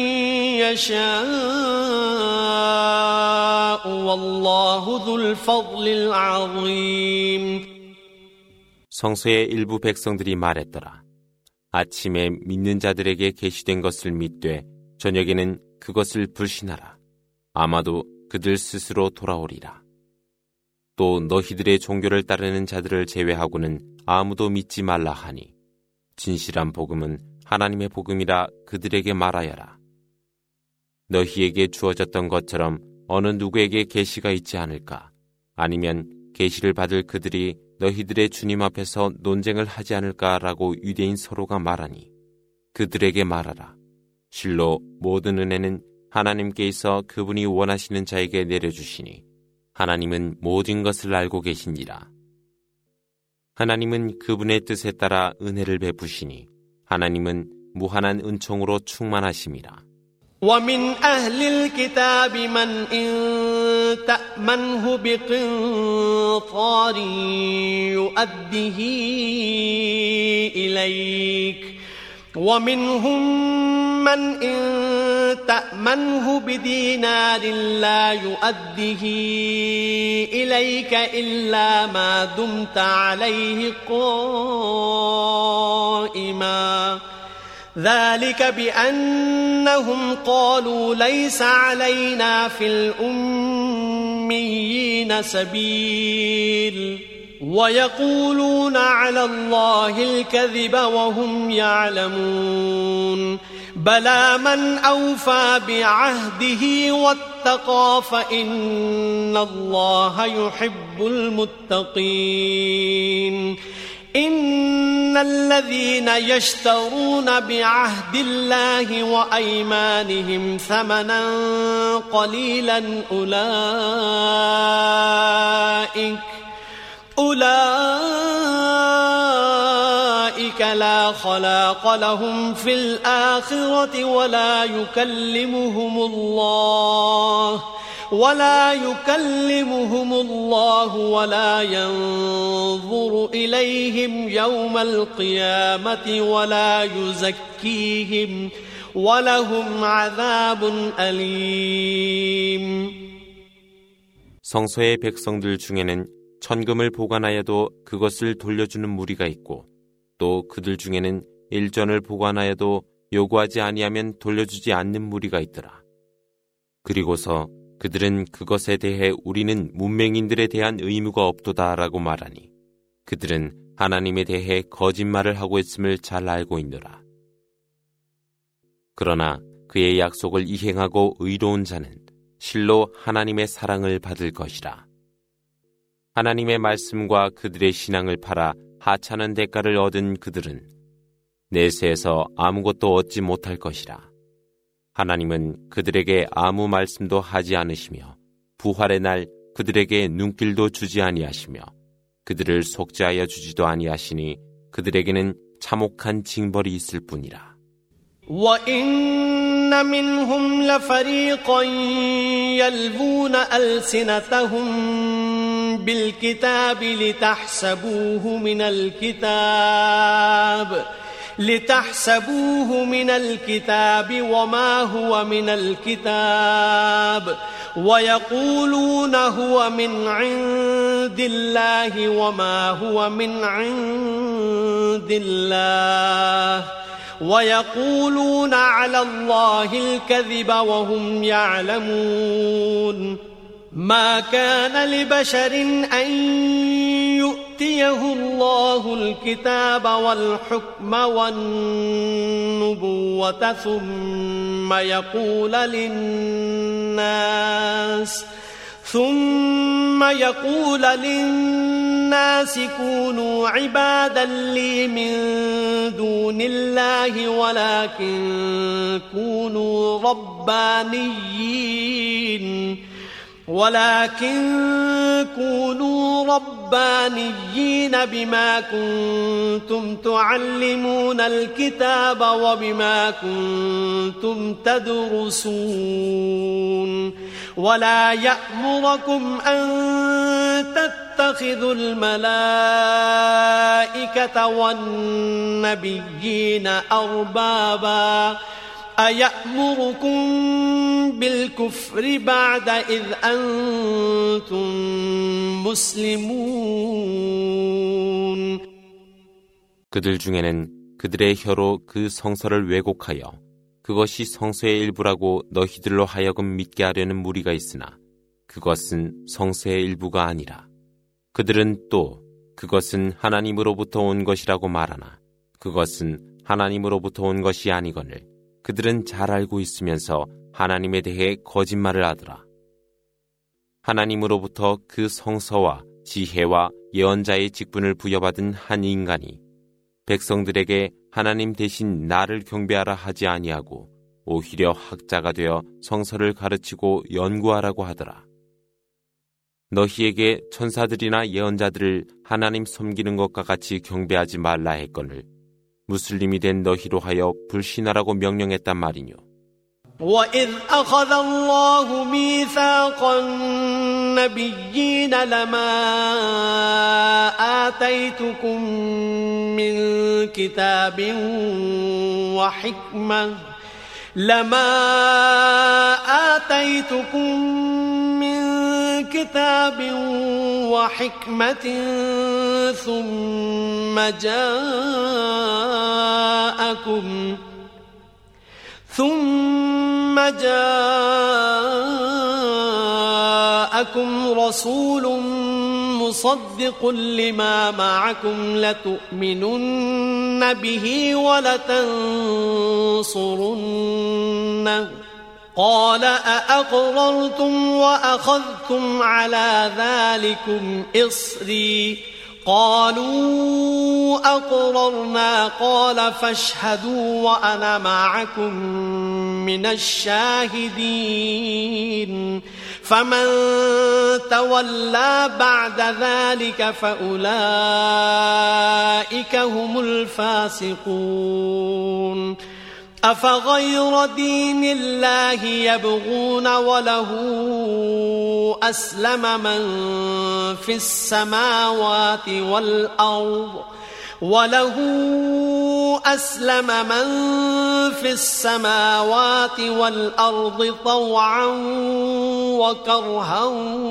يشاء والله ذو الفضل العظيم. 성서의 일부 백성들이 말했더라. 아침에 믿는 자들에게 계시된 것을 믿되 저녁에는 그것을 불신하라. 아마도 그들 스스로 돌아오리라. 또 너희들의 종교를 따르는 자들을 제외하고는 아무도 믿지 말라 하니 진실한 복음은 하나님의 복음이라 그들에게 말하여라. 너희에게 주어졌던 것처럼 어느 누구에게 계시가 있지 않을까? 아니면 계시를 받을 그들이 너희들의 주님 앞에서 논쟁을 하지 않을까라고 유대인 서로가 말하니 그들에게 말하라. 실로 모든 은혜는 하나님께 있어 그분이 원하시는 자에게 내려주시니 하나님은 모든 것을 알고 계시니라. 하나님은 그분의 뜻에 따라 은혜를 베푸시니 하나님은 무한한 은총으로 충만하심이라. ومن أهل الكتاب من إن تأمنه بقنطار يؤده إليك ومنهم من إن تأمنه بدينار لا يؤده إليك إلا ما دمت عليه قائما ذلك بأنهم قالوا ليس علينا في الأميين سبيل ويقولون على الله الكذب وهم يعلمون بلى من أوفى بعهده واتقى فإن الله يحب المتقين إن الذين يشترون بعهد الله وأيمانهم ثمنا قليلا أولئك أولئك لا خلاق لهم في الآخرة ولا يكلمهم الله ولا يكلمهم الله ولا ينظر إليهم يوم القيامة ولا يزكيهم ولهم عذاب أليم. 성서의 백성들 중에는 천금을 보관하여도 그것을 돌려주는 무리가 있고 또 그들 중에는 일전을 보관하여도 요구하지 아니하면 돌려주지 않는 무리가 있더라. 그리고서 그들은 그것에 대해 우리는 문맹인들에 대한 의무가 없도다라고 말하니 그들은 하나님에 대해 거짓말을 하고 있음을 잘 알고 있노라. 그러나 그의 약속을 이행하고 의로운 자는 실로 하나님의 사랑을 받을 것이라. 하나님의 말씀과 그들의 신앙을 팔아 하찮은 대가를 얻은 그들은 내세에서 아무것도 얻지 못할 것이라. 하나님은 그들에게 아무 말씀도 하지 않으시며 부활의 날 그들에게 눈길도 주지 아니하시며 그들을 속죄하여 주지도 아니하시니 그들에게는 참혹한 징벌이 있을 뿐이라. وَإِنَّ مِنْهُمْ لَفَرِيقًا يَلْوُونَ أَلْسِنَتَهُمْ بِالْكِتَابِ لِتَحْسَبُوهُ مِنَ الْكِتَابِ لِتَحْسَبُوهُ مِنَ الْكِتَابِ وَمَا هُوَ مِنَ الْكِتَابِ وَيَقُولُونَ هُوَ مِنْ عِنْدِ اللَّهِ وَمَا هُوَ مِنْ عِنْدِ اللَّهِ وَيَقُولُونَ عَلَى اللَّهِ الْكَذِبَ وَهُمْ يَعْلَمُونَ مَا كَانَ لِبَشَرٍ أَن يُؤْتِيَهُ اللَّهُ الْكِتَابَ وَالْحُكْمَ وَالنُّبُوَّةَ ثُمَّ يَقُولَ لِلنَّاسِ ثُمَّ يَقُولَ لِلنَّاسِ كُونُوا عِبَادًا لِّي مِن دُونِ اللَّهِ وَلَكِن كُونُوا رَبَّانِيِّينَ ولكن كونوا ربانيين بما كنتم تعلمون الكتاب وبما كنتم تدرسون ولا يأمركم أن تتخذوا الملائكة والنبيين أربابا أيأمركم بالكفر بعد إذ أنتم مسلمون. 그들 중에는 그들의 혀로 그 성서를 왜곡하여 그것이 성서의 일부라고 너희들로 하여금 믿게 하려는 무리가 있으나 그것은 성서의 일부가 아니라 그들은 또 그것은 하나님으로부터 온 것이라고 말하나 그것은 하나님으로부터 온 것이 아니거늘 그들은 잘 알고 있으면서 하나님에 대해 거짓말을 하더라. 하나님으로부터 그 성서와 지혜와 예언자의 직분을 부여받은 한 인간이 백성들에게 하나님 대신 나를 경배하라 하지 아니하고 오히려 학자가 되어 성서를 가르치고 연구하라고 하더라. 너희에게 천사들이나 예언자들을 하나님 섬기는 것과 같이 경배하지 말라 했거늘 무슬림이 된 너희로 하여 불신하라고 명령했단 말이뇨. وَإِذْ أَخَذَ اللَّهُ مِيثَاقَ النَّبِيِّينَ لَمَا آتَيْتُكُم مِّن كِتَابٍ وَحِكْمَةٍ لَمَا آتَيْتُكُم مِّن كِتَابٍ وَحِكْمَةٍ ثُمَّ جَاءَكُمْ ثُمَّ جَاءَكُمْ رَسُولٌ مصدق لما معكم لتؤمنن به ولتنصرنه قال أأقررتم وأخذتم على ذلكم إصري قالوا أقررنا قال فاشهدوا وأنا معكم من الشاهدين فمن تولى بعد ذلك فأولئك هم الفاسقون أفغير دين الله يبغون وله أسلم من في السماوات والأرض وله أسلم من في السماوات والأرض طوعا وكرها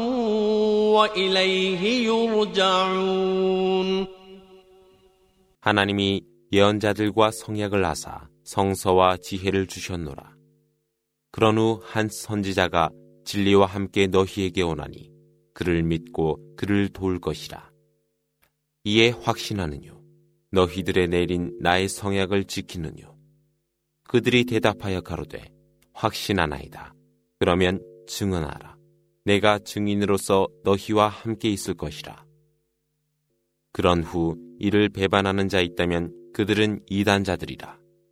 وإليه يرجعون. 하나님이 예언자들과 성약을 하사 성서와 지혜를 주셨노라. 그런 후 한 선지자가 진리와 함께 너희에게 오나니 그를 믿고 그를 도울 것이라. 이에 확신하느뇨. 너희들의 내린 나의 성약을 지키느뇨. 그들이 대답하여 가로되 확신하나이다. 그러면 증언하라. 내가 증인으로서 너희와 함께 있을 것이라. 그런 후 이를 배반하는 자 있다면 그들은 이단자들이라.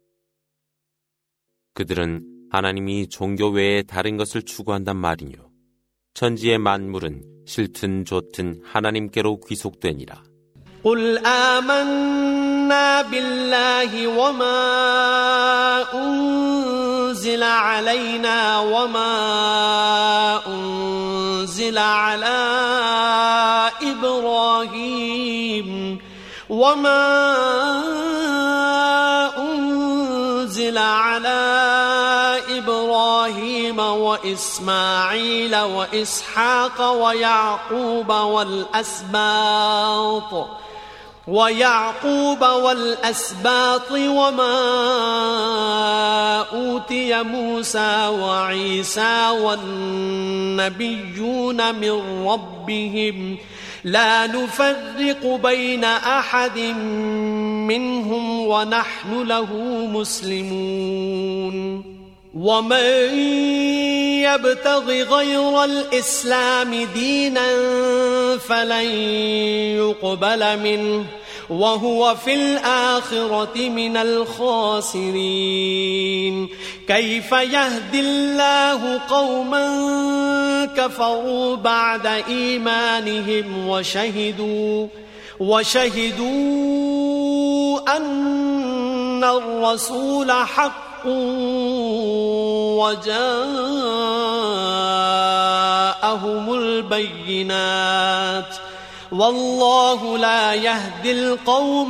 그들은 하나님이 종교 외에 다른 것을 추구한단 말이뇨. 천지의 만물은 싫든 좋든 하나님께로 귀속되니라. قل آمنا بالله وما أنزل علينا وما أنزل على إبراهيم وما أنزل على إبراهيم وإسماعيل وإسحاق ويعقوب والأسباط ويعقوب والأسباط وما أوتي موسى وعيسى والنبيون من ربهم لا نفرق بين أحد منهم ونحن له مسلمون ومن يبتغ غير الإسلام دينا فلن يقبل منه وهو في الآخرة من الخاسرين كيف يهدي الله قوما كفروا بعد إيمانهم وشهدوا وشهدوا أن الرسول حق وجاءهم البينات والله لا يهدي القوم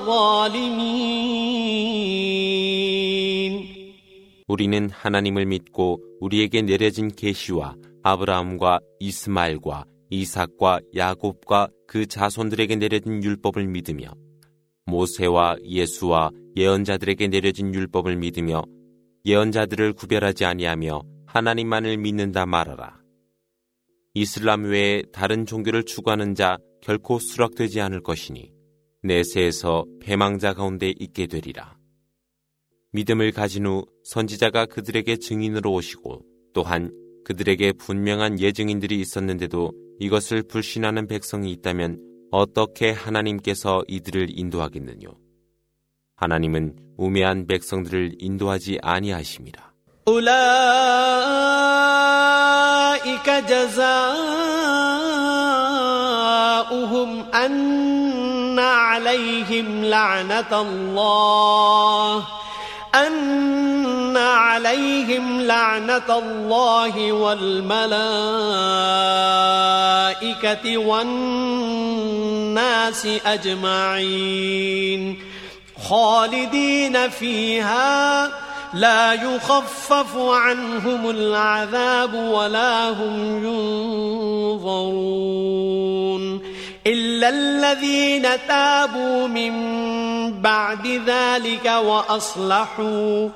الظالمين. 우리는 하나님을 믿고 우리에게 내려진 계시와 아브라함과 이스마엘과 이삭과 야곱과 그 자손들에게 내려진 율법을 믿으며 모세와 예수와 예언자들에게 내려진 율법을 믿으며 예언자들을 구별하지 아니하며 하나님만을 믿는다 말하라. 이슬람 외에 다른 종교를 추구하는 자 결코 수락되지 않을 것이니 내세에서 패망자 가운데 있게 되리라. 믿음을 가진 후 선지자가 그들에게 증인으로 오시고 또한 그들에게 분명한 예증인들이 있었는데도 이것을 불신하는 백성이 있다면 어떻게 하나님께서 이들을 인도하겠느뇨? 하나님은 우매한 백성들을 인도하지 아니하심이라. أولئك جزاؤهم أن عليهم لعنة الله أن عليهم لعنة الله والملائكة والناس أجمعين خالدين فيها لا يخفف عنهم العذاب ولا هم ينظرون إلا الذين تابوا من بعد ذلك وأصلحوا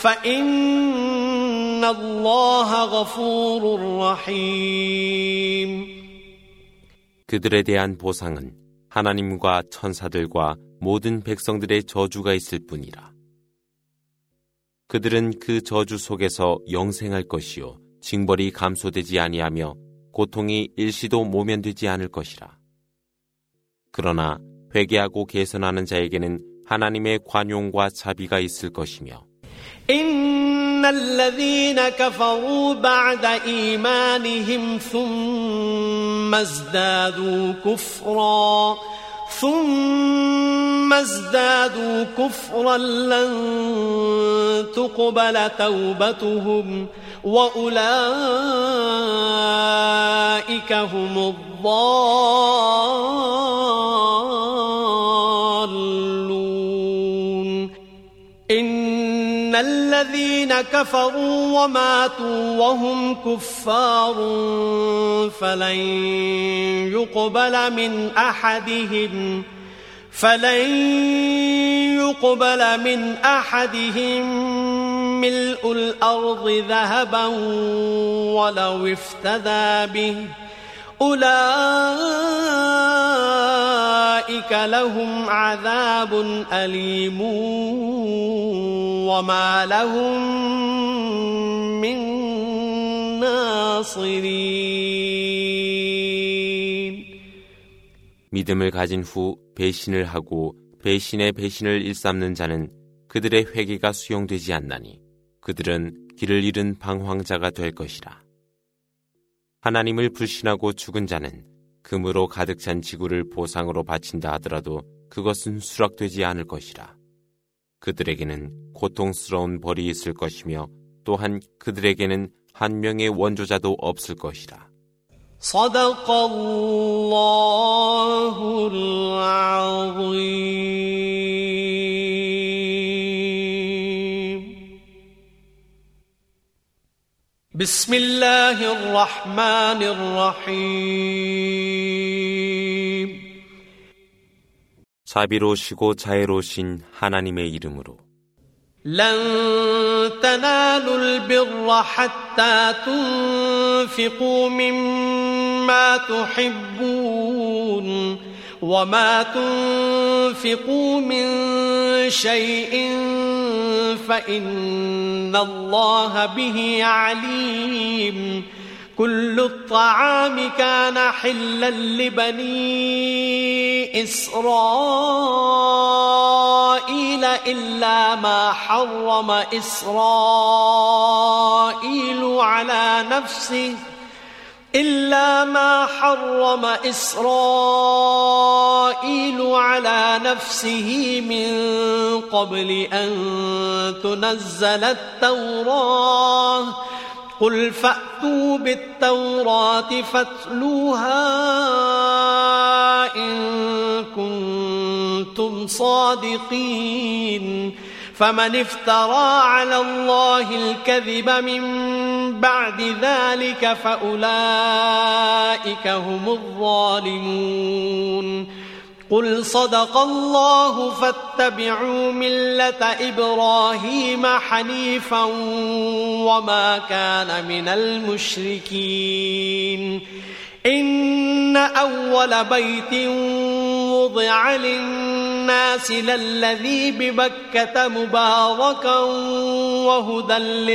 فإن الله غفور رحيم. 그들에 대한 보상은 하나님과 천사들과 모든 백성들의 저주가 있을 뿐이라. 그들은 그 저주 속에서 영생할 것이요 징벌이 감소되지 아니하며 고통이 일시도 모면되지 않을 것이라. 그러나 회개하고 개선하는 자에게는 하나님의 관용과 자비가 있을 것이며 إن الذين كفروا بعد إيمانهم ثم ازدادوا كفرا ثم ازدادوا كفرا لن تقبل توبتهم وأولئك هم الضالون إن الذين كفروا وماتوا وهم كفار فلن يقبل من أحدهم فلن يقبل من أحدهم ملء الأرض ذهبا ولو افتدى به أولئك لهم عذاب أليم وما لهم من ناصرين. 믿음을 가진 후 배신을 하고 배신의 배신을 일삼는 자는 그들의 회개가 수용되지 않나니 그들은 길을 잃은 방황자가 될 것이라. 하나님을 불신하고 죽은 자는 금으로 가득 찬 지구를 보상으로 바친다 하더라도 그것은 수락되지 않을 것이라. 그들에게는 고통스러운 벌이 있을 것이며 또한 그들에게는 한 명의 원조자도 없을 것이라. 서다깔라후를 아ઝ임. 비스밀라히르 라흐마니르 라힘. 자비로우시고 자애로우신 하나님의 이름으로. لن تنالوا البر حتى تنفقوا مما تحبون وما تنفقوا من شيء فإن الله به عليم. كل الطعام كان حلا لبني إسرائيل إلا ما حرم إسرائيل على نفسه إلا ما حرم إسرائيل على نفسه من قبل أن تنزل التوراة قل فأتوا بالتوراة فاتلوها إن كنتم صادقين. فمن افترى على الله الكذب من بعد ذلك فأولئك هم الظالمون. قل صدق الله فاتبعوا ملة إبراهيم حنيفا وما كان من المشركين. إن أول بيت وضع للناس للذي ببكة مباركا وهدى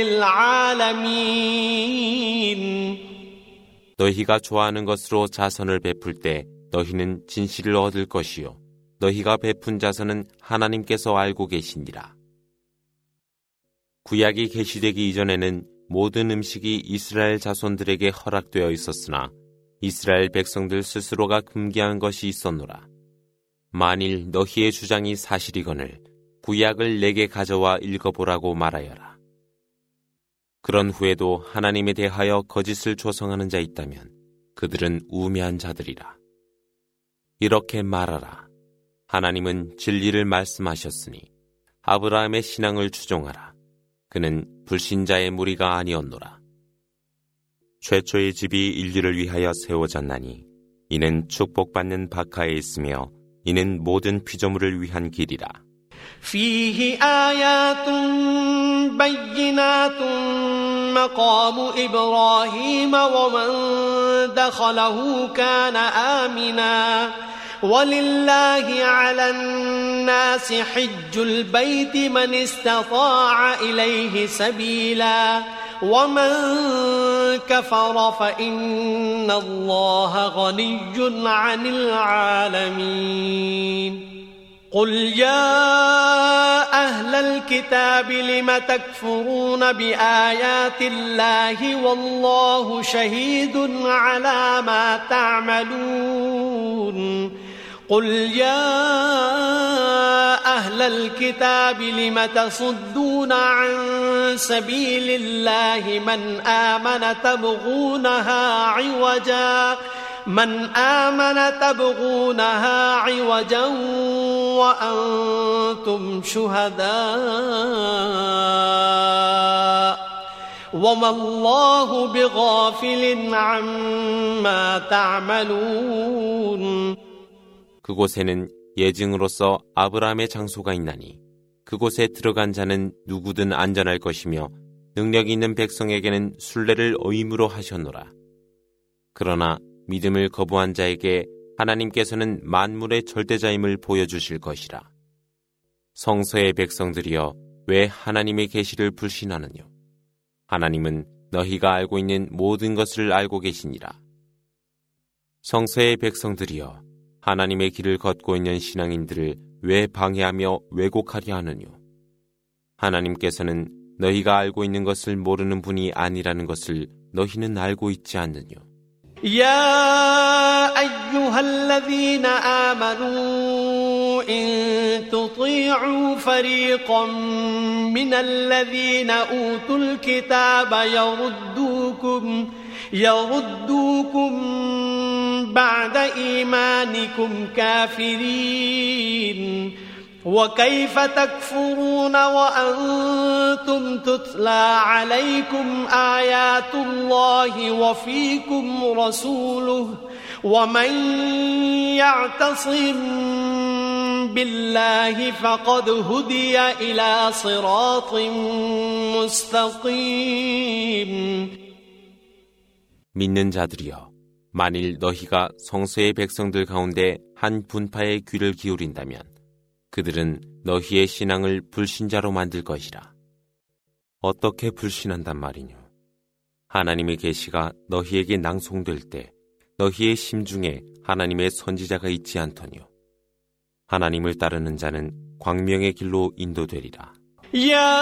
للعالمين. 너희가 좋아하는 것으로 자선을 베풀 때 너희는 진실을 얻을 것이요 너희가 베푼 자선은 하나님께서 알고 계시니라. 구약이 계시되기 이전에는 모든 음식이 이스라엘 자손들에게 허락되어 있었으나 이스라엘 백성들 스스로가 금기한 것이 있었노라. 만일 너희의 주장이 사실이거늘 구약을 내게 가져와 읽어보라고 말하여라. 그런 후에도 하나님에 대하여 거짓을 조성하는 자 있다면 그들은 우매한 자들이라. 이렇게 말하라. 하나님은 진리를 말씀하셨으니 아브라함의 신앙을 추종하라. 그는 불신자의 무리가 아니었노라. 최초의 집이 인류를 위하여 세워졌나니 이는 축복받는 바카에 있으며 이는 모든 피조물을 위한 길이라. فيه آيات بينات مقام إبراهيم ومن دخله كان آمنا ولله على الناس حج البيت من استطاع إليه سبيلا ومن كفر فإن الله غني عن العالمين قل يا أهل الكتاب لم تكفرون بآيات الله والله شهيد على ما تعملون قل يا أهل الكتاب لم تصدون عن سبيل الله من آمن تبغونها عوجا من آمن تبغونها عوجا وأنتم شهداء وما الله بغافل عما تعملون 그곳에는 예증으로서 아브라함의 장소가 있나니 그곳에 들어간 자는 누구든 안전할 것이며 능력 있는 백성에게는 순례를 의무로 하셨노라. 그러나 믿음을 거부한 자에게 하나님께서는 만물의 절대자임을 보여주실 것이라. 성서의 백성들이여 왜 하나님의 계시를 불신하느뇨? 하나님은 너희가 알고 있는 모든 것을 알고 계시니라. 성서의 백성들이여 하나님의 길을 걷고 있는 신앙인들을 왜 방해하며 왜곡하려 하느뇨? 하나님께서는 너희가 알고 있는 것을 모르는 분이 아니라는 것을 너희는 알고 있지 않느뇨? يا أيها الذين آمنوا إن تطيعوا فريقا من الذين أوتوا الكتاب يردوكم يردوكم بعد إيمانكم كافرين وكيف تكفرون وأنتم تتلى عليكم آيات الله وفيكم رسوله ومن يعتصم بالله فقد هدي إلى صراط مستقيم 믿는 자들이여 만일 너희가 성서의 백성들 가운데 한 분파의 귀를 기울인다면 그들은 너희의 신앙을 불신자로 만들 것이라. 어떻게 불신한단 말이뇨? 하나님의 계시가 너희에게 낭송될 때 너희의 심중에 하나님의 선지자가 있지 않더뇨. 하나님을 따르는 자는 광명의 길로 인도되리라. يا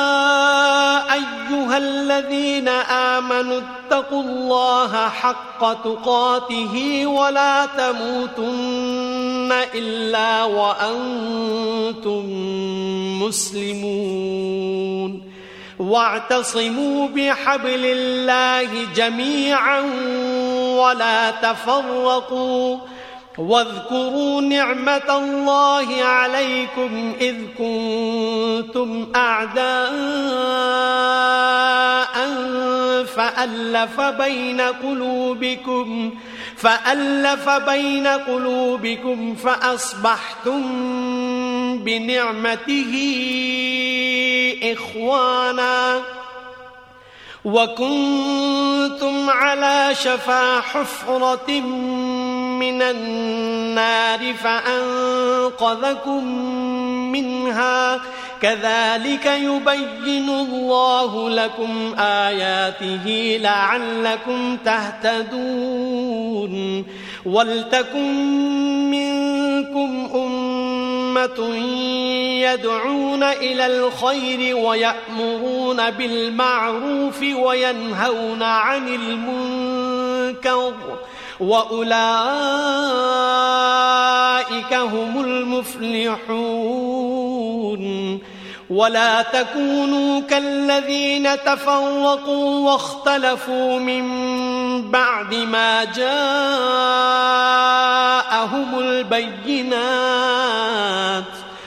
أيها الذين آمنوا اتقوا الله حق تقاته ولا تموتن إلا وأنتم مسلمون واعتصموا بحبل الله جميعا ولا تفرقوا واذكروا نعمة الله عليكم إذ كنتم أعداء فألف بين قلوبكم فألف بين قلوبكم فأصبحتم بنعمته إخوانا وكنتم على شفا حفرة من النار فأنقذكم منها كذلك يبين الله لكم آياته لعلكم تهتدون ولتكن منكم أمة يدعون إلى الخير ويأمرون بالمعروف وينهون عن المنكر وأولئك هم المفلحون ولا تكونوا كالذين تفرقوا واختلفوا من بعد ما جاءهم البينات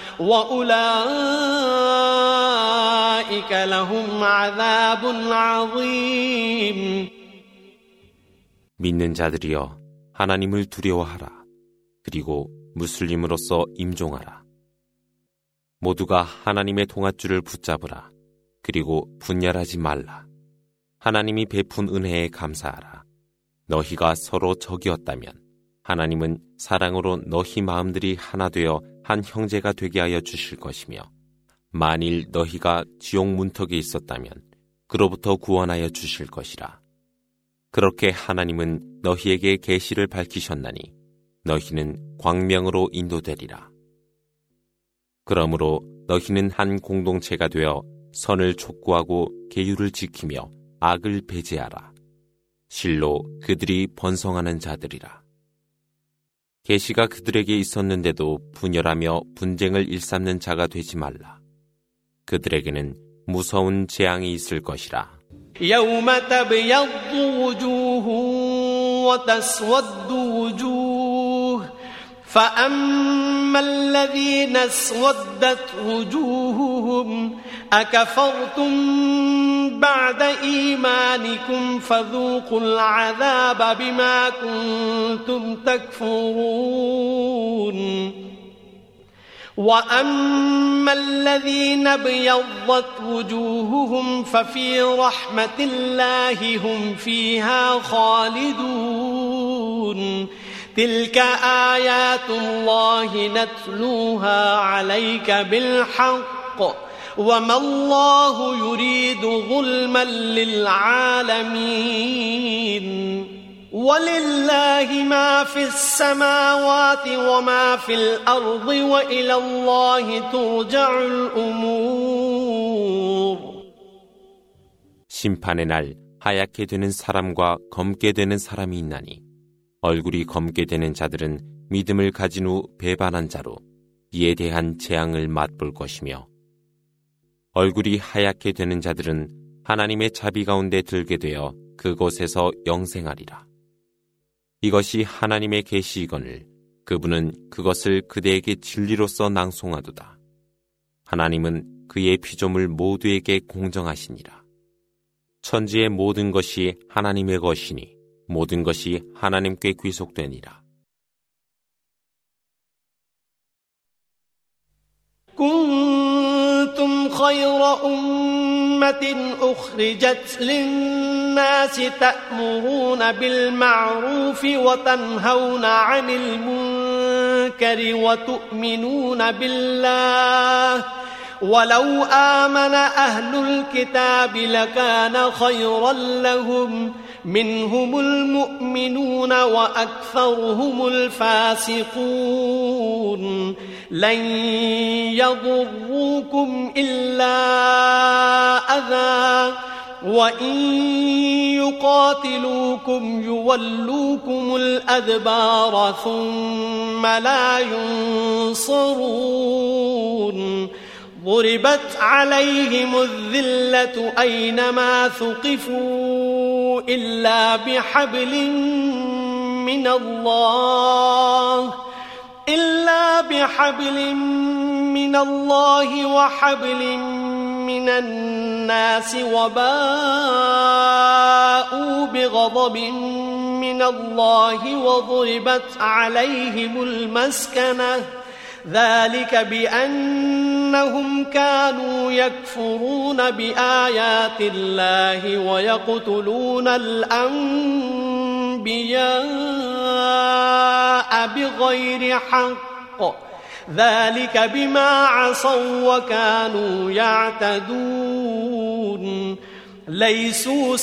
وأولئك لهم عذاب عظيم 믿는 자들이여 하나님을 두려워하라. 그리고 무슬림으로서 임종하라. 모두가 하나님의 동아줄을 붙잡으라. 그리고 분열하지 말라. 하나님이 베푼 은혜에 감사하라. 너희가 서로 적이었다면 하나님은 사랑으로 너희 마음들이 하나 되어 한 형제가 되게 하여 주실 것이며 만일 너희가 지옥 문턱에 있었다면 그로부터 구원하여 주실 것이라. 그렇게 하나님은 너희에게 계시를 밝히셨나니 너희는 광명으로 인도되리라. 그러므로 너희는 한 공동체가 되어 선을 촉구하고 계율을 지키며 악을 배제하라. 실로 그들이 번성하는 자들이라. 계시가 그들에게 있었는데도 분열하며 분쟁을 일삼는 자가 되지 말라. 그들에게는 무서운 재앙이 있을 것이라. يوم تبيض وجوه وتسود وجوه فأما الذين اسودت وجوههم أكفرتم بعد إيمانكم فذوقوا العذاب بما كنتم تكفرون وأما الذين ابيضت وجوههم ففي رحمة الله هم فيها خالدون تلك آيات الله نتلوها عليك بالحق وما الله يريد ظلما للعالمين ولله ما في السماوات وما في الأرض وإلى الله ترجع الأمور. 심판의 날 하얗게 되는 사람과 검게 되는 사람이 있나니 얼굴이 검게 되는 자들은 믿음을 가진 후 배반한 자로 이에 대한 재앙을 맛볼 것이며 얼굴이 하얗게 되는 자들은 하나님의 자비 가운데 들게 되어 그곳에서 영생하리라. 이것이 하나님의 계시이거늘 그분은 그것을 그대에게 진리로서 낭송하도다. 하나님은 그의 피조물 모두에게 공정하시니라. 천지의 모든 것이 하나님의 것이니 모든 것이 하나님께 귀속되니라. كنتم خير أمة أخرجت للناس تأمرون بالمعروف وتنهون عن المنكر وتؤمنون بالله ولو آمن أهل الكتاب لكان خيرا لهم منهم المؤمنون وأكثرهم الفاسقون لن يضروكم إلا أذى وإن يقاتلوكم يولوكم الأدبار ثم لا ينصرون ضربت عليهم الذلة أينما ثقفوا إلا بحبل من الله إلا بحبل من الله وحبل من الناس وباءوا بغضب من الله وضربت عليهم المسكنة ذلك بأنهم كانوا يكفرون بآيات الله ويقتلون الأنبياء بغير حق ذلك بما عصوا وكانوا يعتدون ليسوا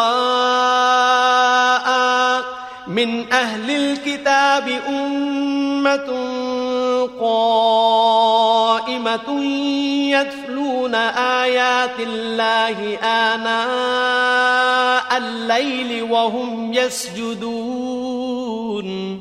سواء من أهل الكتاب أمة قائمة يتلون آيات الله آناء الليل وهم يسجدون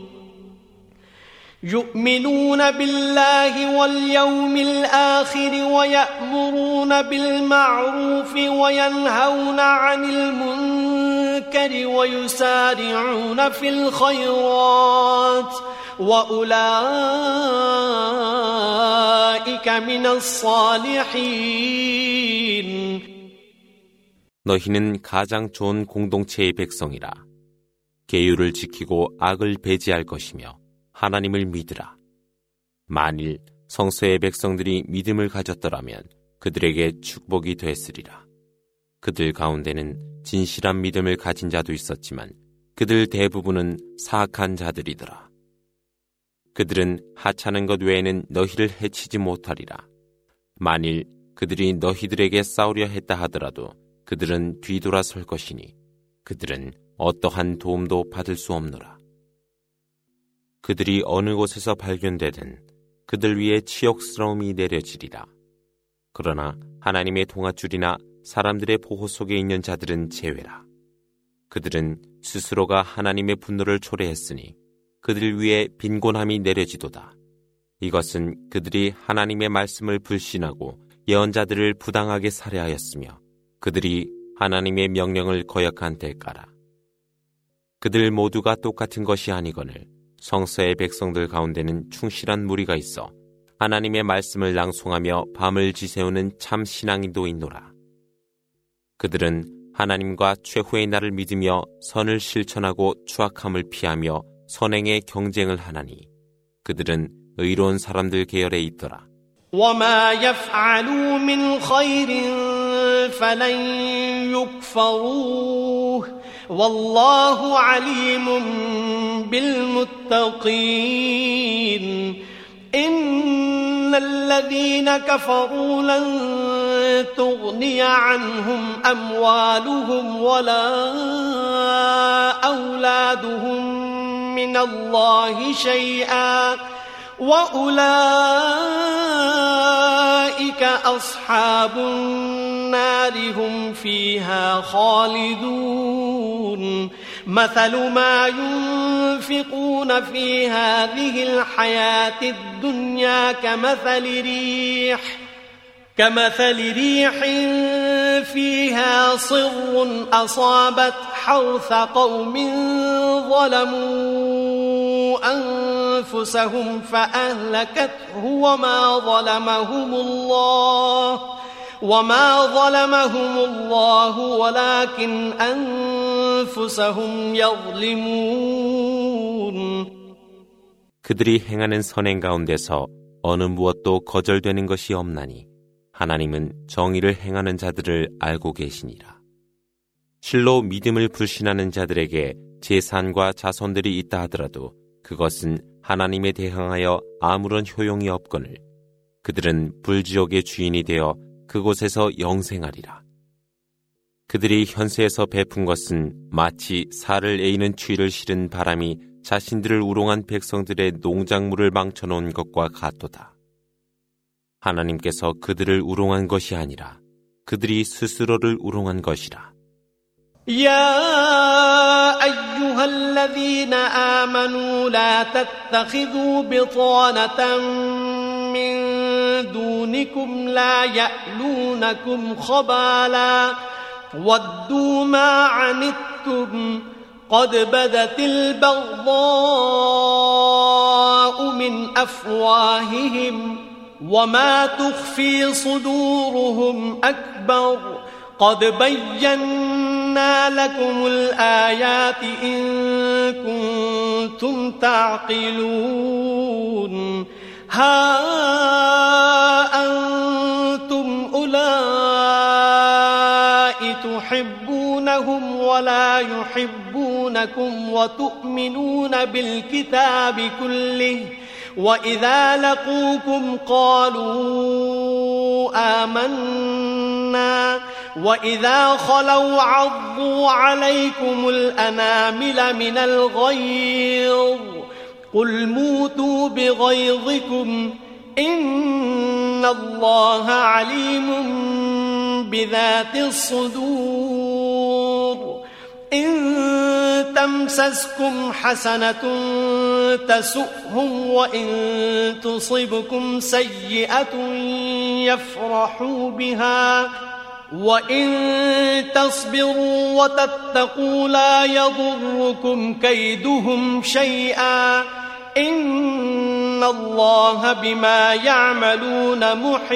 يؤمنون بالله واليوم الآخر ويأمرون بالمعروف وينهون عن المنكر ويسارعون في الخيرات وأولئك من الصالحين. 너희는 가장 좋은 공동체의 백성이라. 계율을 지키고 악을 배제할 것이며 하나님을 믿으라. 만일 성서의 백성들이 믿음을 가졌더라면 그들에게 축복이 됐으리라. 그들 가운데는 진실한 믿음을 가진 자도 있었지만 그들 대부분은 사악한 자들이더라. 그들은 하찮은 것 외에는 너희를 해치지 못하리라. 만일 그들이 너희들에게 싸우려 했다 하더라도 그들은 뒤돌아설 것이니 그들은 어떠한 도움도 받을 수 없노라. 그들이 어느 곳에서 발견되든 그들 위에 치욕스러움이 내려지리라. 그러나 하나님의 동아줄이나 사람들의 보호 속에 있는 자들은 제외라. 그들은 스스로가 하나님의 분노를 초래했으니 그들 위에 빈곤함이 내려지도다. 이것은 그들이 하나님의 말씀을 불신하고 예언자들을 부당하게 살해하였으며 그들이 하나님의 명령을 거역한 대가라. 그들 모두가 똑같은 것이 아니거늘 성서의 백성들 가운데는 충실한 무리가 있어 하나님의 말씀을 낭송하며 밤을 지새우는 참 신앙인도 있노라. 그들은 하나님과 최후의 날을 믿으며 선을 실천하고 추악함을 피하며 선행에 경쟁을 하나니 그들은 의로운 사람들 계열에 있더라. وما يفعلوا من خير فلن يكفروه والله عليم بالمتقين إن الذين كفروا لن تغني عنهم أموالهم ولا أولادهم من الله شيئا وأولئك أصحاب النار هم فيها خالدون مثل ما ينفقون في هذه الحياة الدنيا كمثل ريح كمثل ريح فيها صر أصابت حرث قوم ظلموا أنفسهم فأهلكته وما ظلمهم الله وما ظلمهم الله ولكن أنفسهم يظلمون. 그들이 행하는 선행 가운데서 어느 무엇도 거절되는 것이 없나니 하나님은 정의를 행하는 자들을 알고 계시니라. 실로 믿음을 불신하는 자들에게 재산과 자손들이 있다 하더라도 그것은 하나님에 대항하여 아무런 효용이 없거늘 그들은 불지옥의 주인이 되어 그곳에서 영생하리라. 그들이 현세에서 베푼 것은 마치 살을 에이는 추위를 실은 바람이 자신들을 우롱한 백성들의 농작물을 망쳐놓은 것과 같도다. 하나님께서 그들을 우롱한 것이 아니라 그들이 스스로를 우롱한 것이라. يا أيها الذين آمنوا لا تتخذوا بطانة من دونكم لا يألونكم خبالا ودوا ما عنتم قد بدت البغضاء من أفواههم وما تخفي صدورهم أكبر قد بينا لكم الآيات إن كنتم تعقلون ها أنتم أولئك تحبونهم ولا يحبونكم وتؤمنون بالكتاب كله وإذا لقوكم قالوا آمنا وإذا خلوا عضوا عليكم الأنامل من الغيظ قل موتوا بغيظكم إن الله عليم بذات الصدور إن تمسسكم حسنة تسؤهم وإن تصبكم سيئة يفرحوا بها وإن تصبروا وتتقوا لا يضركم كيدهم شيئا إن الله بما يعملون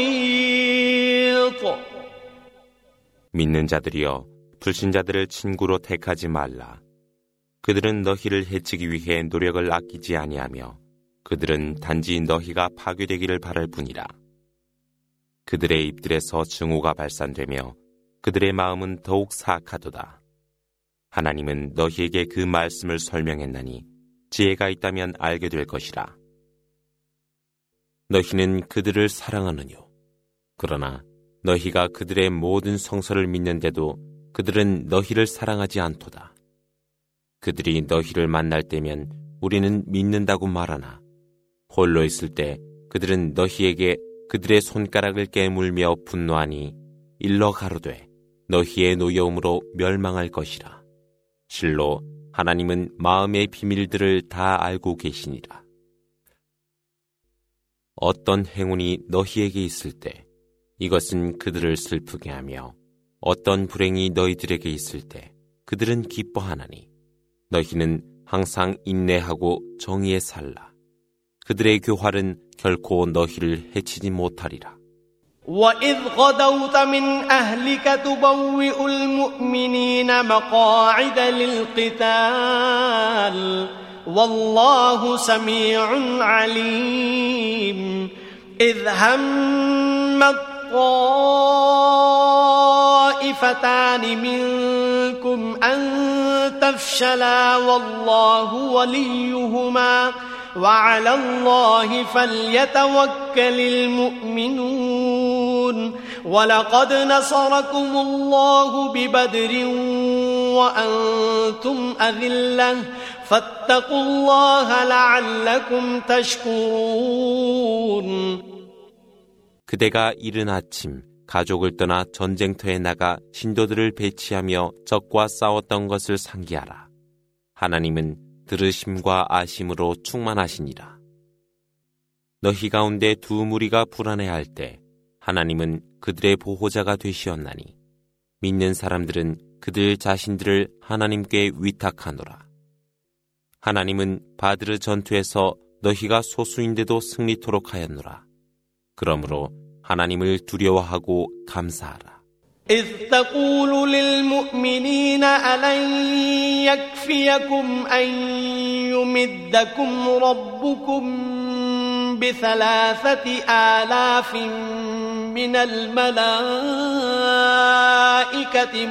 محيط. 믿는 자들이여 불신자들을 친구로 택하지 말라. 그들은 너희를 해치기 위해 노력을 아끼지 아니하며 그들은 단지 너희가 파괴되기를 바랄 뿐이라. 그들의 입들에서 증오가 발산되며 그들의 마음은 더욱 사악하도다. 하나님은 너희에게 그 말씀을 설명했나니 지혜가 있다면 알게 될 것이라. 너희는 그들을 사랑하느뇨. 그러나 너희가 그들의 모든 성서를 믿는데도 그들은 너희를 사랑하지 않도다. 그들이 너희를 만날 때면 우리는 믿는다고 말하나 홀로 있을 때 그들은 너희에게 그들의 손가락을 깨물며 분노하니 일러 가로되 너희의 노여움으로 멸망할 것이라. 실로 하나님은 마음의 비밀들을 다 알고 계시니라. 어떤 행운이 너희에게 있을 때 이것은 그들을 슬프게 하며 어떤 불행이 너희들에게 있을 때 그들은 기뻐하나니 너희는 항상 인내하고 정의에 살라. 그들의 교활은 결코 너희를 해치지 못하리라. وَإِذْ غَدَوْتَ مِنْ أَهْلِكَ تُبَوِّئُ الْمُؤْمِنِينَ مَقَاعِدَ لِلْقِتَالِ وَاللَّهُ سَمِيعٌ عَلِيمٌ إِذْ هَمَّتْ طَائِفَتَانِ مِنْكُمْ أَنْ تَفْشَلَا وَاللَّهُ وَلِيُّهُمَا وَعَلَى اللَّهِ فَلْيَتَوَكَّلِ الْمُؤْمِنُونَ وَلَقَدْ نَصَرَكُمُ اللَّهُ بِبَدْرٍ وَأَنْتُمْ أَذِلَّةٌ فَاتَّقُوا اللَّهَ لَعَلَّكُمْ تَشْكُرُونَ. 그대가 이른 아침 가족을 떠나 전쟁터에 나가 신도들을 배치하며 적과 싸웠던 것을 상기하라. 하나님은 들으심과 아심으로 충만하시니라. 너희 가운데 두 무리가 불안해할 때 하나님은 그들의 보호자가 되시었나니 믿는 사람들은 그들 자신들을 하나님께 위탁하노라. 하나님은 바드르 전투에서 너희가 소수인데도 승리토록 하였노라. 그러므로 하나님을 두려워하고 감사하라. إذ تقول للمؤمنين ألن يكفيكم أن يمدكم ربكم بثلاثة آلاف من الملائكة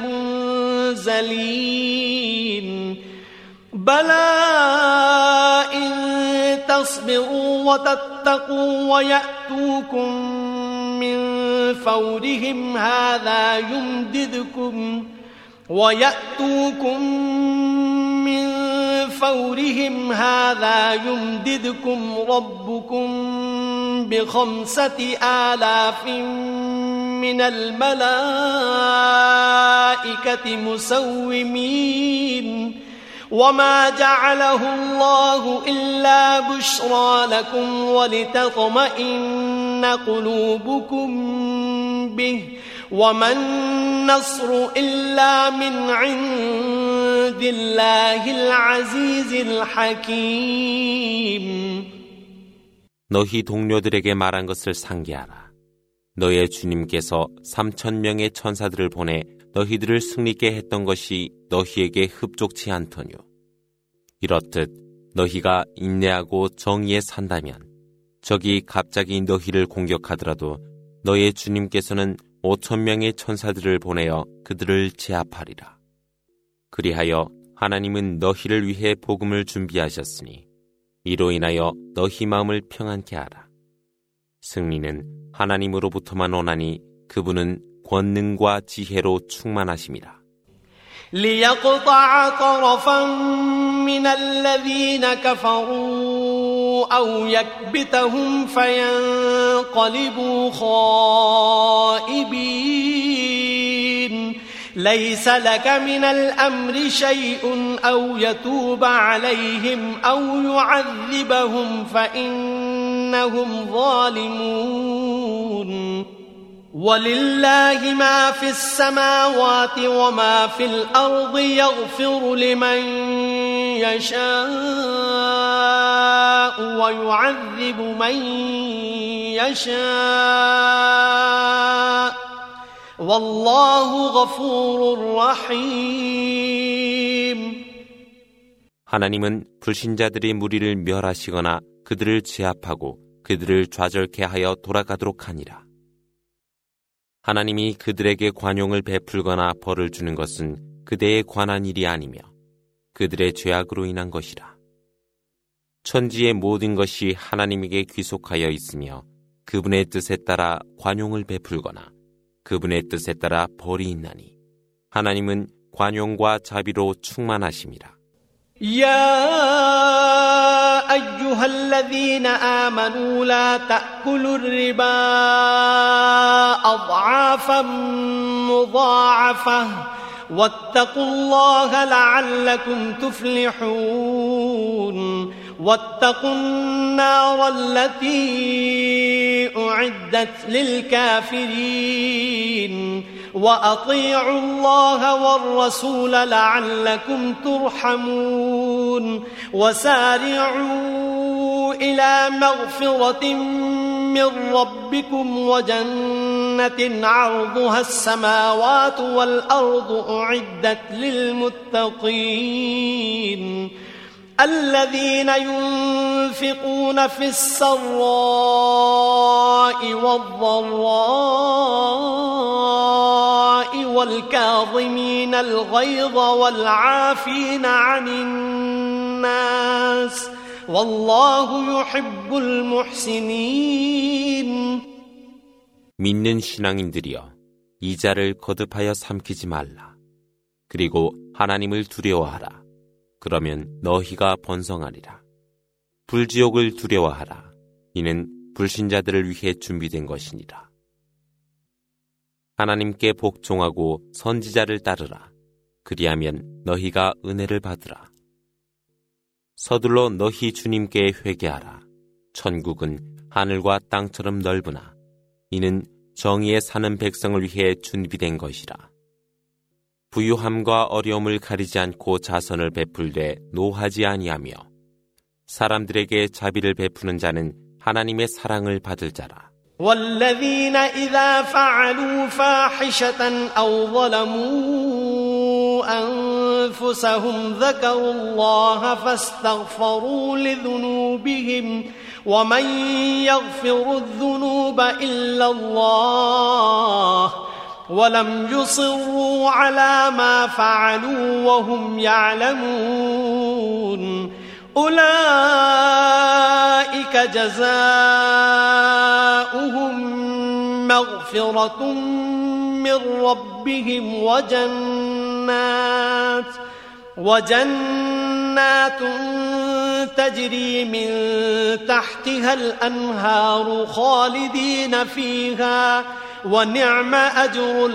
منزلين بلى إن تصبروا وتتقوا ويأتوكم من فورهم هذا يمددكم ويأتوكم من فورهم هذا يمددكم ربكم بخمسة آلاف من الملائكة مسومين وما جعله الله إلا بشرى لكم ولتطمئن قلوبكم به وما النصر إلا من عند الله العزيز الحكيم. 너희 동료들에게 말한 것을 상기하라. 너의 주님께서 삼천 명의 천사들을 보내 너희들을 승리케 했던 것이 너희에게 흡족치 않더뇨. 이렇듯 너희가 인내하고 정의에 산다면 적이 갑자기 너희를 공격하더라도 너의 주님께서는 오천 명의 천사들을 보내어 그들을 제압하리라. 그리하여 하나님은 너희를 위해 복음을 준비하셨으니 이로 인하여 너희 마음을 평안케 하라. 승리는 하나님으로부터만 오나니 그분은 권능과 지혜로 충만하심이라. ليقطع طرفا من الذين كفروا أو يكبتهم فينقلبوا خائبين ليس لك من الأمر شيء أو يتوب عليهم أو يعذبهم فإنهم ظالمون ولله ما في السماوات وما في الأرض يغفر لمن يشاء ويعذب من يشاء والله غفور رحيم. 하나님은 불신자들의 무리를 멸하시거나 그들을 제압하고 그들을 좌절케 하여 돌아가도록 하니라. 하나님이 그들에게 관용을 베풀거나 벌을 주는 것은 그대에 관한 일이 아니며 그들의 죄악으로 인한 것이라. 천지의 모든 것이 하나님에게 귀속하여 있으며 그분의 뜻에 따라 관용을 베풀거나 그분의 뜻에 따라 벌이 있나니 하나님은 관용과 자비로 충만하심이라. يا أيها الذين آمنوا لا تأكلوا الربا أضعافا مضاعفة واتقوا الله لعلكم تفلحون واتقوا النار التي أعدت للكافرين وأطيعوا الله والرسول لعلكم ترحمون وسارعوا إلى مغفرة من ربكم وجنة عرضها السماوات والأرض أعدت للمتقين الذين ينفقون في السراء والضراء والكاظمين الغيظ والعافين عن الناس والله يحب المحسنين. 믿는 신앙인들이여, 이자를 거듭하여 삼키지 말라. 그리고 하나님을 두려워하라. 그러면 너희가 번성하리라. 불지옥을 두려워하라. 이는 불신자들을 위해 준비된 것이니라. 하나님께 복종하고 선지자를 따르라. 그리하면 너희가 은혜를 받으라. 서둘러 너희 주님께 회개하라. 천국은 하늘과 땅처럼 넓으나 이는 정의에 사는 백성을 위해 준비된 것이라. 부유함과 어려움을 가리지 않고 자선을 베풀되 노하지 아니하며 사람들에게 자비를 베푸는 자는 하나님의 사랑을 받을 자라. والذين إذا فعلوا فاحشة أو ظلموا أنفسهم ذكروا الله فاستغفروا لذنوبهم ومن يغفر الذنوب إلا الله ولم يصروا على ما فعلوا وهم يعلمون أولئك جزاؤهم مغفرة من ربهم وجنات وجنات تجري من تحتها الأنهار خالدين فيها ونعم أجر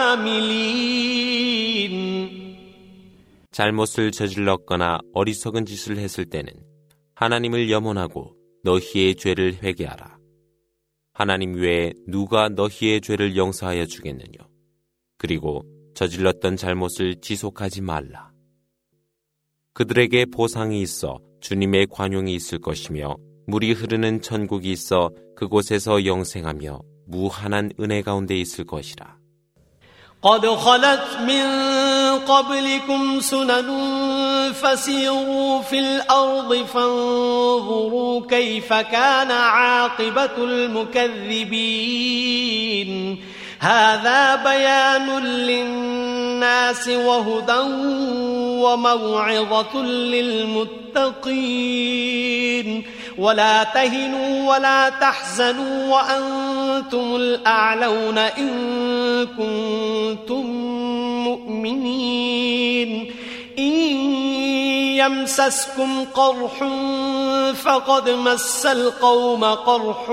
العاملين. 잘못을 저질렀거나 어리석은 짓을 했을 때는 하나님을 염원하고 너희의 죄를 회개하라. 하나님 외에 누가 너희의 죄를 용서하여 주겠느냐. 그리고 저질렀던 잘못을 지속하지 말라. 그들에게 보상이 있어 주님의 관용이 있을 것이며 물이 흐르는 천국이 있어 그곳에서 영생하며 무한한 은혜 가운데 있을 것이라. قد خلت من قبلكم سنن فسيروا في الأرض فانظروا كيف كان عاقبة المكذبين هذا بيان للناس وهدى وموعظة للمتقين ولا تهنوا ولا تحزنوا وأنتم الأعلون إن كنتم مؤمنين إن يمسسكم قرح فقد مس القوم قرح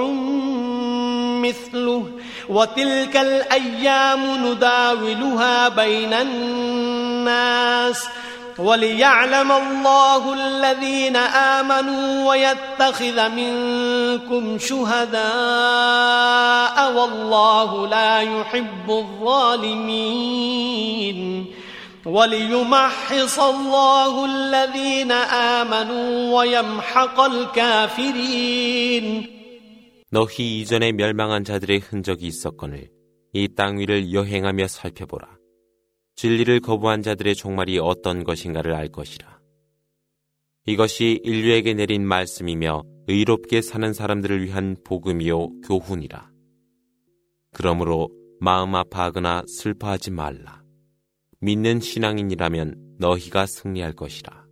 مثله وتلك الأيام نداولها بين الناس وليعلم الله الذين آمنوا ويتخذ منكم شهداء والله لا يحب الظالمين وليمحص الله الذين آمنوا ويمحق الكافرين. 너희 이전에 멸망한 자들의 흔적이 있었거늘 이 땅 위를 여행하며 살펴보라. 진리를 거부한 자들의 종말이 어떤 것인가를 알 것이라. 이것이 인류에게 내린 말씀이며 의롭게 사는 사람들을 위한 복음이요 교훈이라. 그러므로 마음 아파하거나 슬퍼하지 말라. 믿는 신앙인이라면 너희가 승리할 것이라.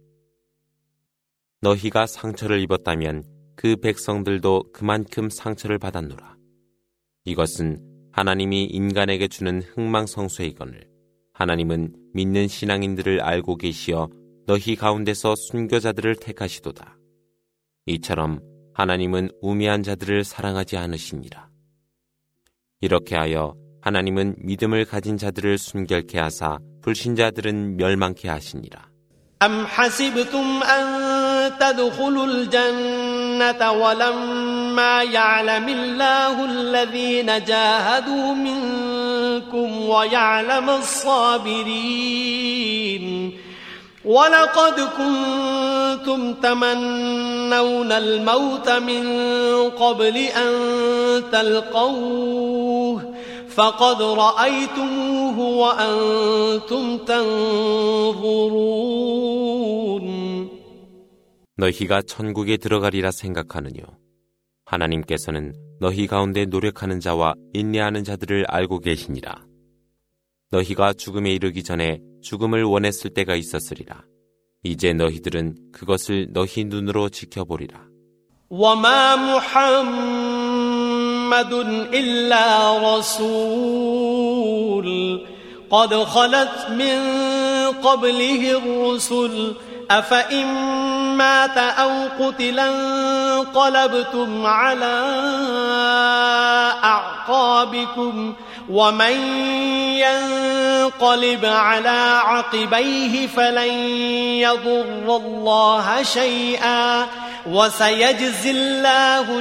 너희가 상처를 입었다면 그 백성들도 그만큼 상처를 받았노라. 이것은 하나님이 인간에게 주는 흥망성쇠이거늘 하나님은 믿는 신앙인들을 알고 계시어 너희 가운데서 순교자들을 택하시도다. 이처럼 하나님은 우매한 자들을 사랑하지 않으시니라. 이렇게 하여 하나님은 믿음을 가진 자들을 순결케 하사 불신자들은 멸망케 하시니라. أم حسبتم أن تدخلوا الجنة ولما يعلم الله الذين جاهدوا منكم ويعلم الصابرين ولقد كنتم تمنون الموت من قبل أن تلقوه فقد رأيتموه وأنتم تنظرون 너희가 천국에 들어가리라 생각하느뇨. 하나님께서는 너희 가운데 노력하는 자와 인내하는 자들을 알고 계시니라. 너희가 죽음에 이르기 전에 죽음을 원했을 때가 있었으리라. 이제 너희들은 그것을 너희 눈으로 지켜보리라. وما محمد إلا رسول قد خلت من قبله الرسل أفإن مات أو قتلا انقلبتم على أعقابكم ومن ينقلب على عقبيه فلن يضر الله شيئا وسيجزي الله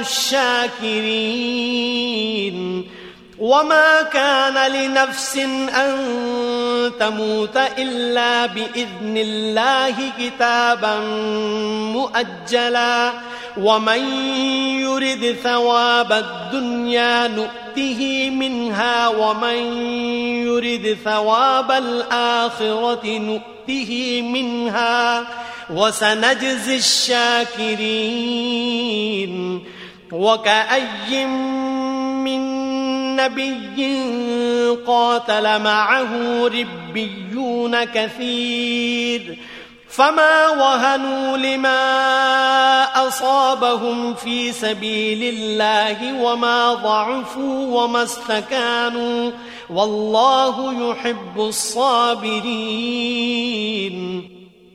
الشاكرين وما كان لنفس أن تموت إلا بإذن الله كتابا مؤجلا ومن يرد ثواب الدنيا نؤته منها ومن يرد ثواب الآخرة نؤته منها وسنجزي الشاكرين وكأي من نبي قاتل معه ربيون كثير فما وهنوا لما أصابهم في سبيل الله وما ضعفوا وما استكانوا والله يحب الصابرين.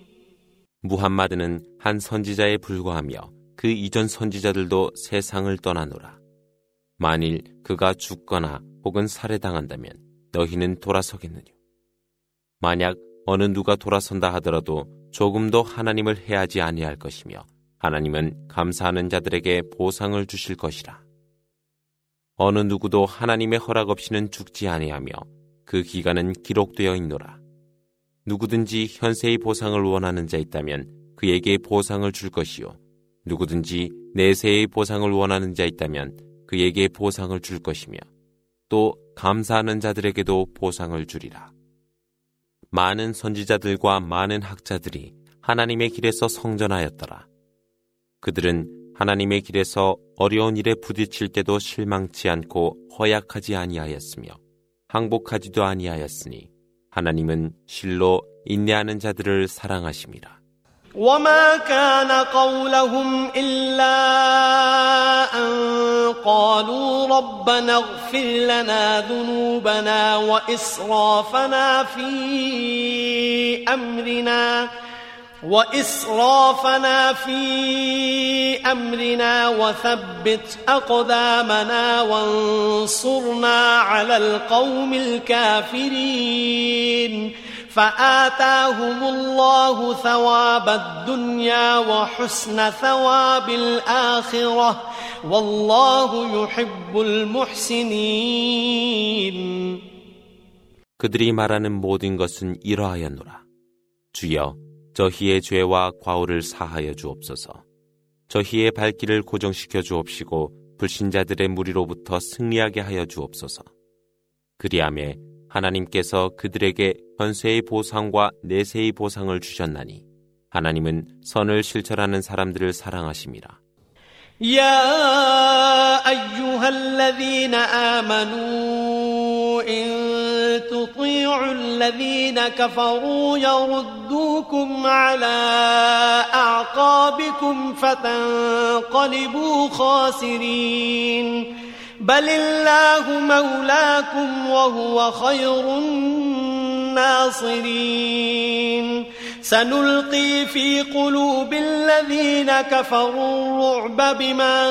무함마드는 한 선지자에 불과하며 그 이전 선지자들도 세상을 떠나노라. 만일 그가 죽거나 혹은 살해당한다면 너희는 돌아서겠느냐? 만약 어느 누가 돌아선다 하더라도 조금도 하나님을 해하지 아니할 것이며 하나님은 감사하는 자들에게 보상을 주실 것이라. 어느 누구도 하나님의 허락 없이는 죽지 아니하며 그 기간은 기록되어 있노라. 누구든지 현세의 보상을 원하는 자 있다면 그에게 보상을 줄 것이요 누구든지 내세의 보상을 원하는 자 있다면 그에게 보상을 줄 것이며 또 감사하는 자들에게도 보상을 주리라. 많은 선지자들과 많은 학자들이 하나님의 길에서 성전하였더라. 그들은 하나님의 길에서 어려운 일에 부딪힐 때도 실망치 않고 허약하지 아니하였으며 항복하지도 아니하였으니 하나님은 실로 인내하는 자들을 사랑하심이라. وما كان قولهم إلا أن قالوا ربنا اغفر لنا ذنوبنا وإسرافنا في أمرنا وإسرافنا في أمرنا وثبت أقدامنا وانصرنا على القوم الكافرين فآتاهم الله ثواب الدنيا وحسن ثواب الآخرة والله يحب المحسنين. 그들이 말하는 모든 것은 이러하였노라. 주여, 저희의 죄와 과오를 사하여 주옵소서. 저희의 발길을 고정시켜 주옵시고 불신자들의 무리로부터 승리하게 하여 주옵소서. 그리하매 하나님께서 그들에게 현세의 보상과 내세의 보상을 주셨나니 하나님은 선을 실천하는 사람들을 사랑하심이라. يا أيها الذين آمنوا الذين كفروا يردوكم على أعقابكم فتنقلبوا خاسرين بل الله مولاكم وهو خير الناصرين سنلقي في قلوب الذين كفروا الرعب بما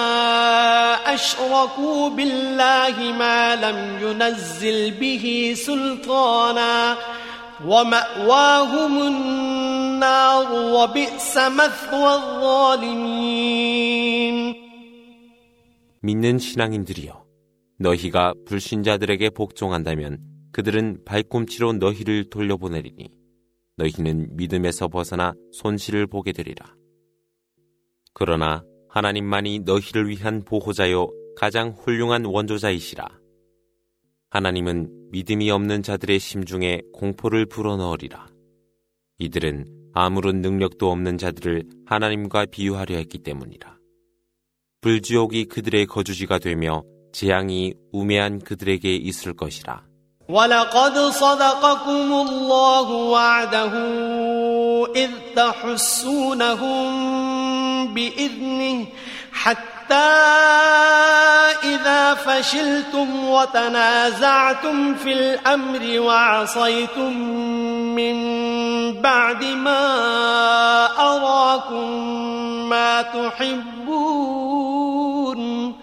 أشركوا بالله ما لم ينزل به سلطانا ومأواهم النار وبئس مثوى الظالمين. 믿는 신앙인들이여, 너희가 불신자들에게 복종한다면 그들은 발꿈치로 너희를 돌려보내리니 너희는 믿음에서 벗어나 손실을 보게 되리라. 그러나 하나님만이 너희를 위한 보호자요 가장 훌륭한 원조자이시라. 하나님은 믿음이 없는 자들의 심중에 공포를 불어넣으리라. 이들은 아무런 능력도 없는 자들을 하나님과 비유하려 했기 때문이라. 불지옥이 그들의 거주지가 되며 재앙이 우매한 그들에게 있을 것이라. ولقد صدقكم الله وعده إذ تحسونهم بإذنه حتى إذا فشلتم وتنازعتم في الأمر وعصيتم من بعد ما أراكم ما تحبون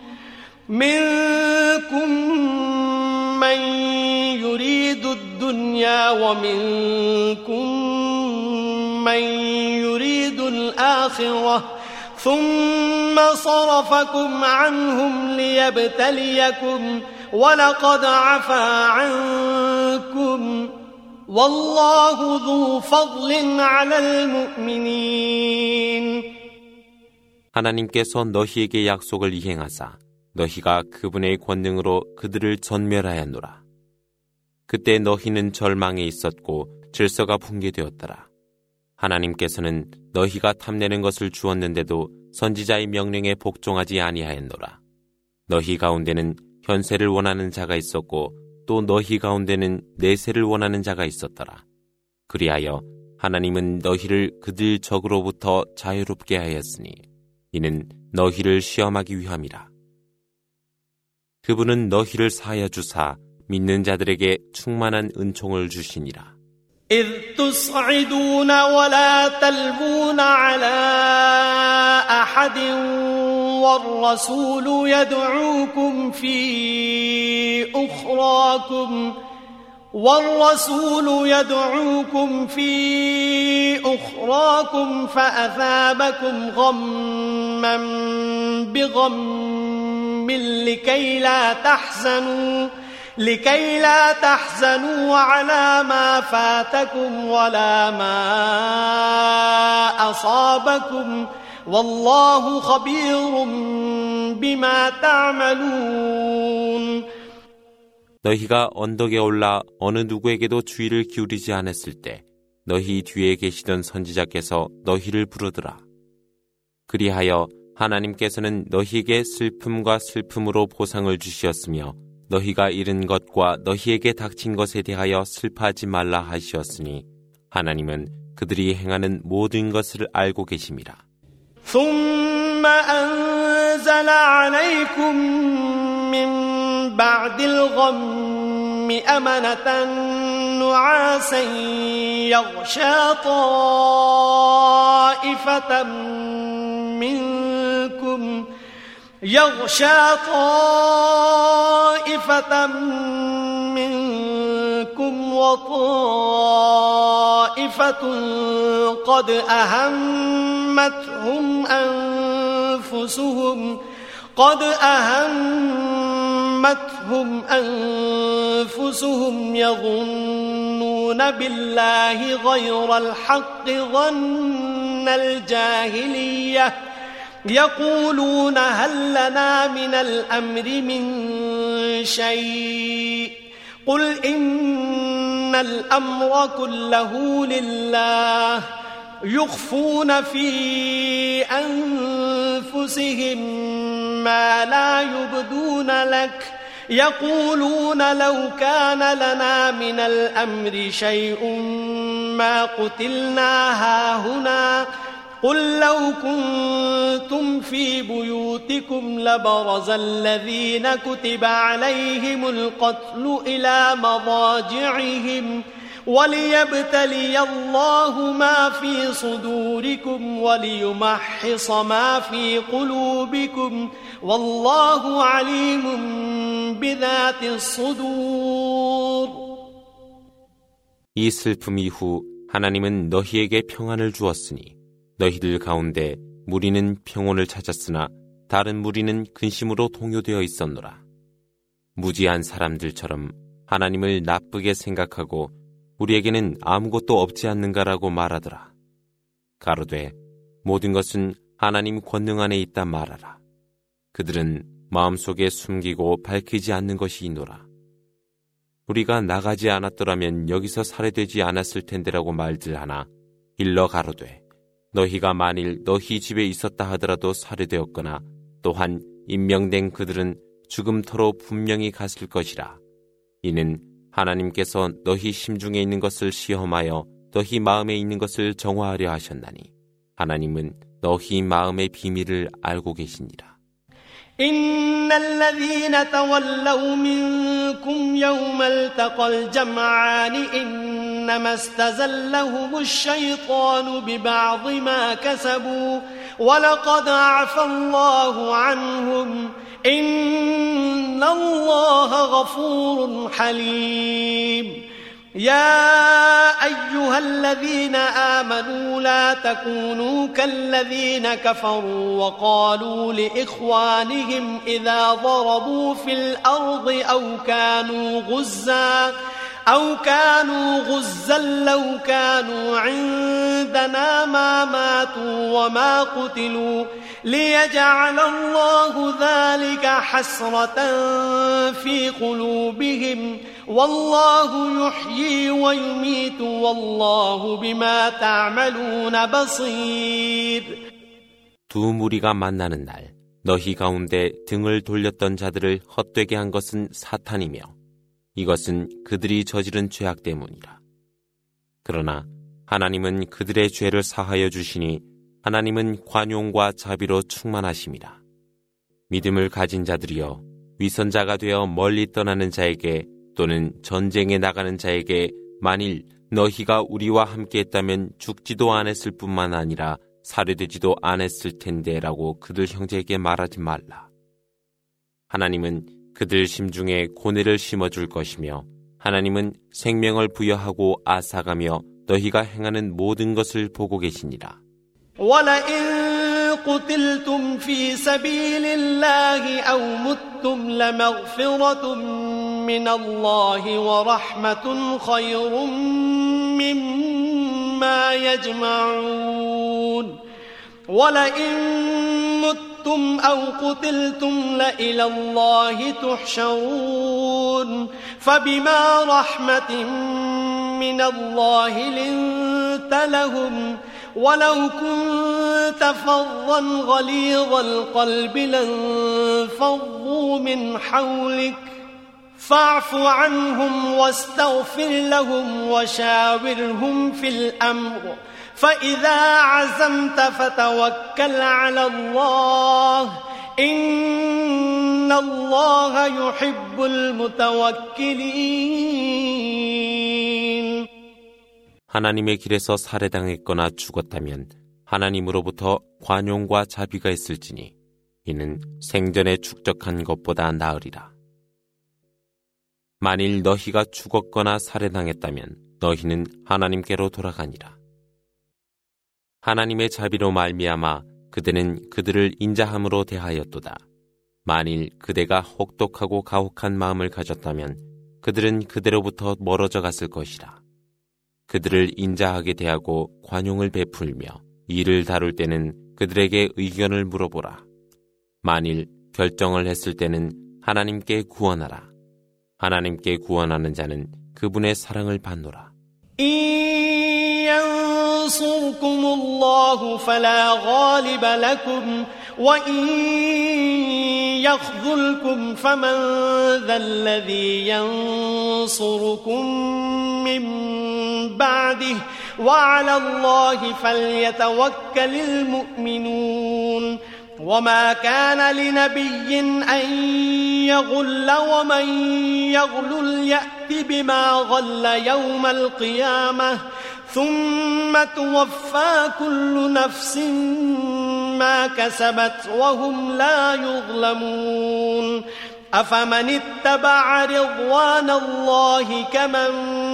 منكم من يريد الدنيا ومنكم من يريد الآخرة ثم صرفكم عنهم ليبتليكم ولقد عفا عنكم والله ذو فضل على المؤمنين. 하나님께서 너희에게 약속을 이행하사 너희가 그분의 권능으로 그들을 전멸하였노라. 그때 너희는 절망에 있었고 질서가 붕괴되었더라. 하나님께서는 너희가 탐내는 것을 주었는데도 선지자의 명령에 복종하지 아니하였노라. 너희 가운데는 현세를 원하는 자가 있었고 또 너희 가운데는 내세를 원하는 자가 있었더라. 그리하여 하나님은 너희를 그들 적으로부터 자유롭게 하였으니 이는 너희를 시험하기 위함이라. 그분은 너희를 사하여 주사 믿는 자들에게 충만한 은총을 주시니라. إذ تصعدون ولا تلوون على أحد والرسول يدعوكم في أخراكم والرسول يدعوكم في أخراكم فأثابكم غما بغم لكي لا تحزنوا لكي لا تحزنوا على ما فاتكم ولا ما أصابكم والله خبير بما تعملون. 너희가 언덕에 올라 어느 누구에게도 주의를 기울이지 않았을 때 너희 뒤에 계시던 선지자께서 너희를 부르더라. 그리하여 하나님께서는 너희에게 슬픔과 슬픔으로 보상을 주시었으며 너희가 잃은 것과 너희에게 닥친 것에 대하여 슬퍼하지 말라 하시었으니 하나님은 그들이 행하는 모든 것을 알고 계심이라. ثم أنزل عليكم من بعد الغم أمنة نعاسا يغشى طائفة منكم يغشى طائفة منكم وطائفة قد أهمتهم أنفسهم قد أهمتهم أنفسهم يظنون بالله غير الحق ظن الجاهلية يقولون هل لنا من الأمر من شيء قل إن الأمر كله لله يخفون في أنفسهم ما لا يبدون لك يقولون لو كان لنا من الأمر شيء ما قتلنا هاهنا قل لو كنتم في بيوتكم لبرز الذين كتب عليهم القتل إلى مضاجعهم وليبتلي الله ما في صدوركم وليمحص ما في قلوبكم والله عليم بذات الصدور. 이 슬픔 이후 하나님은 너희에게 평안을 주었으니 너희들 가운데 무리는 평온을 찾았으나 다른 무리는 근심으로 동요되어 있었노라. 무지한 사람들처럼 하나님을 나쁘게 생각하고 우리에게는 아무것도 없지 않는가라고 말하더라. 가로되 모든 것은 하나님 권능 안에 있다 말하라. 그들은 마음속에 숨기고 밝히지 않는 것이 있노라. 우리가 나가지 않았더라면 여기서 살해되지 않았을 텐데라고 말들 하나 일러 가로되 너희가 만일 너희 집에 있었다 하더라도 살해되었거나 또한 임명된 그들은 죽음터로 분명히 갔을 것이라. 이는 하나님께서 너희 심중에 있는 것을 시험하여 너희 마음에 있는 것을 정화하려 하셨나니 하나님은 너희 마음의 비밀을 알고 계시니라. إن الذين تولوا منكم يوم التقى الجمعان إنما استزلهم الشيطان ببعض ما كسبوا ولقد عفى الله عنهم إن الله غفور حليم. يا أيها الذين آمنوا لا تكونوا كالذين كفروا وقالوا لإخوانهم إذا ضربوا في الأرض أو كانوا غزا أو كانوا غزا لو كانوا عندنا ما ماتوا وما قتلوا ليجعل الله ذلك حسرة في قلوبهم والله يحيي ويميت والله بما تعملون بصير. 두 무리가 만나는 날 너희 가운데 등을 돌렸던 자들을 헛되게 한 것은 사탄이며 이것은 그들이 저지른 죄악 때문이라. 그러나 하나님은 그들의 죄를 사하여 주시니 하나님은 관용과 자비로 충만하심이라. 믿음을 가진 자들이여 위선자가 되어 멀리 떠나는 자에게 또는 전쟁에 나가는 자에게 만일 너희가 우리와 함께했다면 죽지도 않았을 뿐만 아니라 살해되지도 않았을 텐데 라고 그들 형제에게 말하지 말라. 하나님은 그들 심중에 고뇌를 심어줄 것이며 하나님은 생명을 부여하고 아사가며 너희가 행하는 모든 것을 보고 계시니라. ولئن قتلتم في سبيل الله أو متم لمغفرة من الله ورحمة خير مما يجمعون. ولئن متم أو قتلتم لإلى الله تحشرون. فبما رحمة من الله لنت لهم ولو كنت فظا غليظ القلب لانفضوا من حولك فاعف عنهم واستغفر لهم وشاورهم في الأمر فإذا عزمت فتوكل على الله إن الله يحب المتوكلين. 하나님의 길에서 살해당했거나 죽었다면 하나님으로부터 관용과 자비가 있을지니 이는 생전에 축적한 것보다 나으리라. 만일 너희가 죽었거나 살해당했다면 너희는 하나님께로 돌아가니라. 하나님의 자비로 말미암아 그대는 그들을 인자함으로 대하였도다. 만일 그대가 혹독하고 가혹한 마음을 가졌다면 그들은 그대로부터 멀어져 갔을 것이라. 그들을 인자하게 대하고 관용을 베풀며 일을 다룰 때는 그들에게 의견을 물어보라. 만일 결정을 했을 때는 하나님께 구원하라. 하나님께 구원하는 자는 그분의 사랑을 받노라. ينصركم الله فلا غالب لكم وإن يخذلكم فمن ذا الذي ينصركم من بعده وعلى الله فليتوكل المؤمنون وما كان لنبي أن يغل ومن يغلل يأت بما غل يوم القيامة ثم توفى كل نفس ما كسبت وهم لا يظلمون أفمن اتبع رضوان الله كمن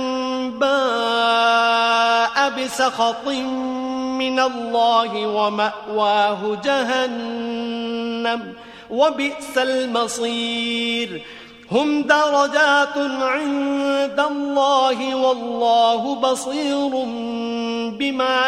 باء بسخط من الله ومأواه جهنم وبئس المصير هم درجات عند الله والله بصير بما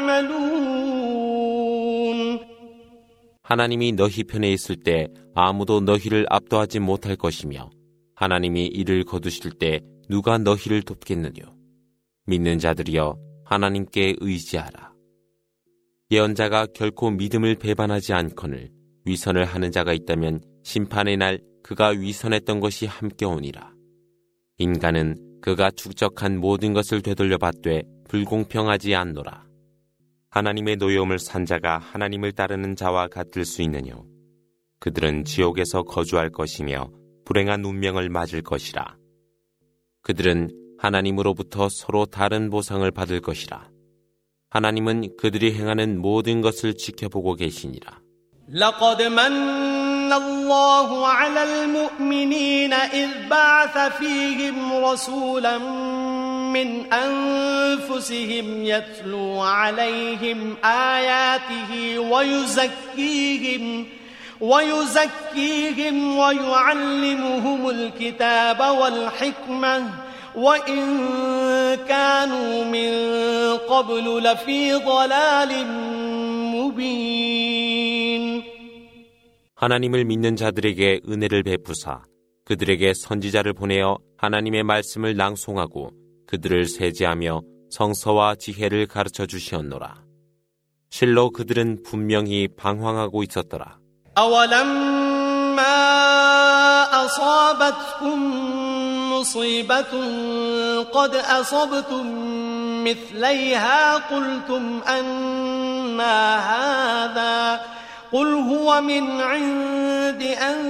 يعملون. 하나님이 너희 편에 있을 때 아무도 너희를 압도하지 못할 것이며 하나님이 이를 거두실 때 누가 너희를 돕겠느뇨. 믿는 자들이여 하나님께 의지하라. 예언자가 결코 믿음을 배반하지 않거늘 위선을 하는 자가 있다면 심판의 날 그가 위선했던 것이 함께 오니라. 인간은 그가 축적한 모든 것을 되돌려받되 불공평하지 않노라. 하나님의 노여움을 산 자가 하나님을 따르는 자와 같을 수 있느뇨. 그들은 지옥에서 거주할 것이며 불행한 운명을 맞을 것이라. 그들은 하나님으로부터 서로 다른 보상을 받을 것이라. 하나님은 그들이 행하는 모든 것을 지켜보고 계시니라. لقد من الله على المؤمنين إذ بعث فيهم رسولا من أنفسهم يتلو عليهم آياته ويزكيهم ويزكيهم ويعلمهم الكتاب والحكمة وإن كانوا من قبل لفي ضلال مبين. 하나님을 믿는 자들에게 은혜를 베푸사 그들에게 선지자를 보내어 하나님의 말씀을 낭송하고 그들을 세제하며 성서와 지혜를 가르쳐 주시었노라. 실로 그들은 분명히 방황하고 있었더라. أولما أصابتكم مصيبة قد أصبتم مثليها قلتم أنى هذا قل هو من عند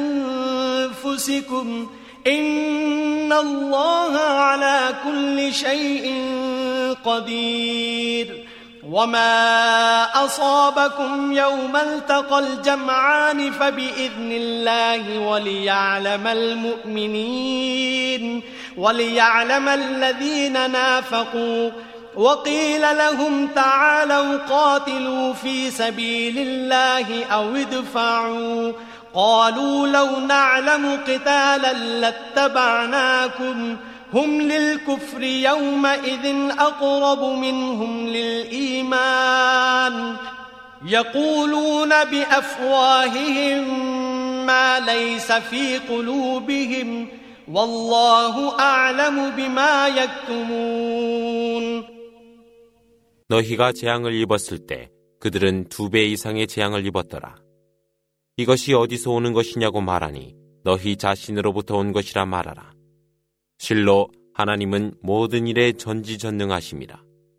أنفسكم إن الله على كل شيء قدير وما أصابكم يوم التقى الجمعان فبإذن الله وليعلم المؤمنين وليعلم الذين نافقوا وقيل لهم تعالوا قاتلوا في سبيل الله أو ادفعوا قالوا لو نعلم قتالا لاتبعناكم هم للكفر يومئذ أقرب منهم للإيمان يقولون بأفواههم ما ليس في قلوبهم والله أعلم بما يكتمون. 너희가 재앙을 입었을 때 그들은 두 배 이상의 재앙을 입었더라. 이것이 어디서 오는 것이냐고 말하니 너희 자신으로부터 온 것이라 말하라. 실로 하나님은 모든 일에 전지전능하심이라.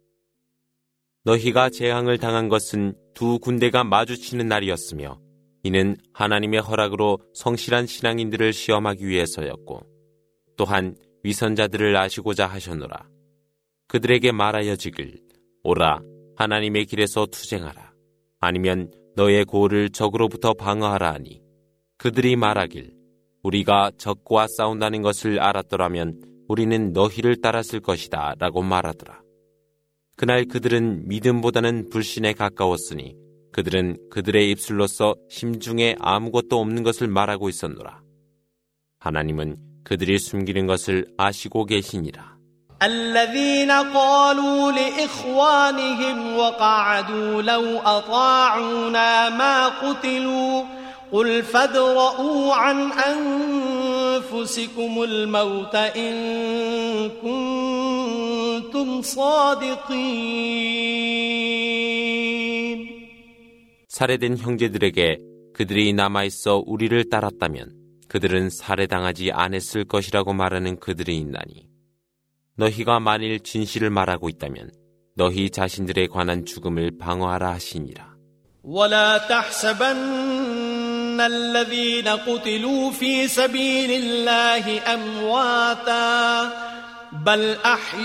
너희가 재앙을 당한 것은 두 군대가 마주치는 날이었으며 이는 하나님의 허락으로 성실한 신앙인들을 시험하기 위해서였고 또한 위선자들을 아시고자 하셨노라. 그들에게 말하여지길 오라 하나님의 길에서 투쟁하라. 아니면 너의 고를 적으로부터 방어하라 하니 그들이 말하길 우리가 적과 싸운다는 것을 알았더라면 우리는 너희를 따랐을 것이다 라고 말하더라. 그날 그들은 믿음보다는 불신에 가까웠으니 그들은 그들의 입술로서 심중에 아무것도 없는 것을 말하고 있었노라. 하나님은 그들이 숨기는 것을 아시고 계시니라. الذين قالوا لإخوانهم وقعدوا لو أطاعونا ما قتلوا قل فادرءوا عن أنفسكم الموت إن كنتم صادقين 살해된 형제들에게 그들이 남아있어 우리를 따랐다면 그들은 살해당하지 않았을 것이라고 말하는 그들이 있나니 너희가 만일 진실을 말하고 있다면 너희 자신들에 관한 죽음을 방어하라 하시니라. ولا تحسبن الذين قتلوا في سبيل الله أمواتا بل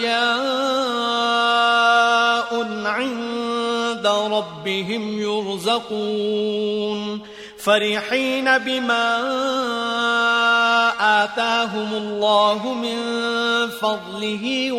أحياء عند ربهم يرزقون فرحين بما آتاهم الله من فضله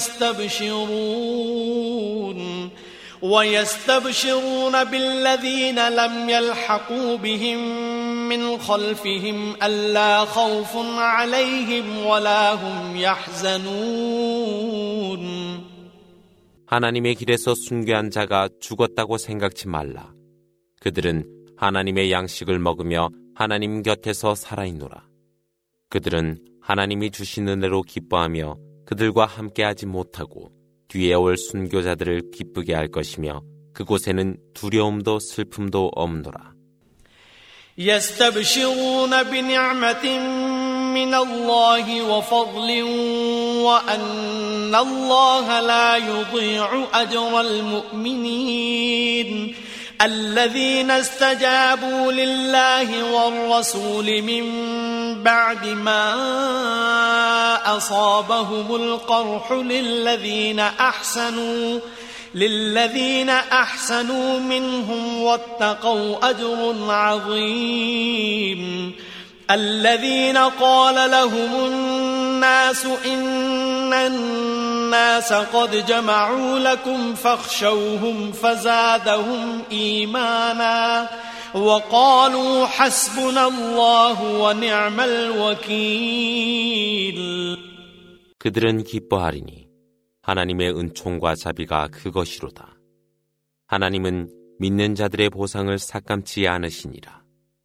ويستبشرون ويستبشرون بالذين لم يلحقوا بهم من خلفهم ألا خوف عليهم ولا هم يحزنون. 하나님의 길에서 순교한 자가 죽었다고 생각지 말라. 그들은 하나님의 양식을 먹으며 하나님 곁에서 살아있노라. 그들은 하나님이 주신 은혜로 기뻐하며 그들과 함께하지 못하고 뒤에 올 순교자들을 기쁘게 할 것이며 그곳에는 두려움도 슬픔도 없노라. يستبشرون بنعمة من الله وفضل وأن الله لا يضيع أجر المؤمنين الذين استجابوا لله والرسول من بعد ما أصابهم القرح للذين أحسنوا للذين أحسنوا منهم واتقوا أجر عظيم الذين قال لهم الناس إن الناس قد جمعوا لكم فاخشوهم فزادهم إيمانا وقالوا حسبنا الله ونعم الوكيل. 그들은 기뻐하리니 하나님의 은총과 자비가 그것이로다. 하나님은 믿는 자들의 보상을 삭감치 않으시니라.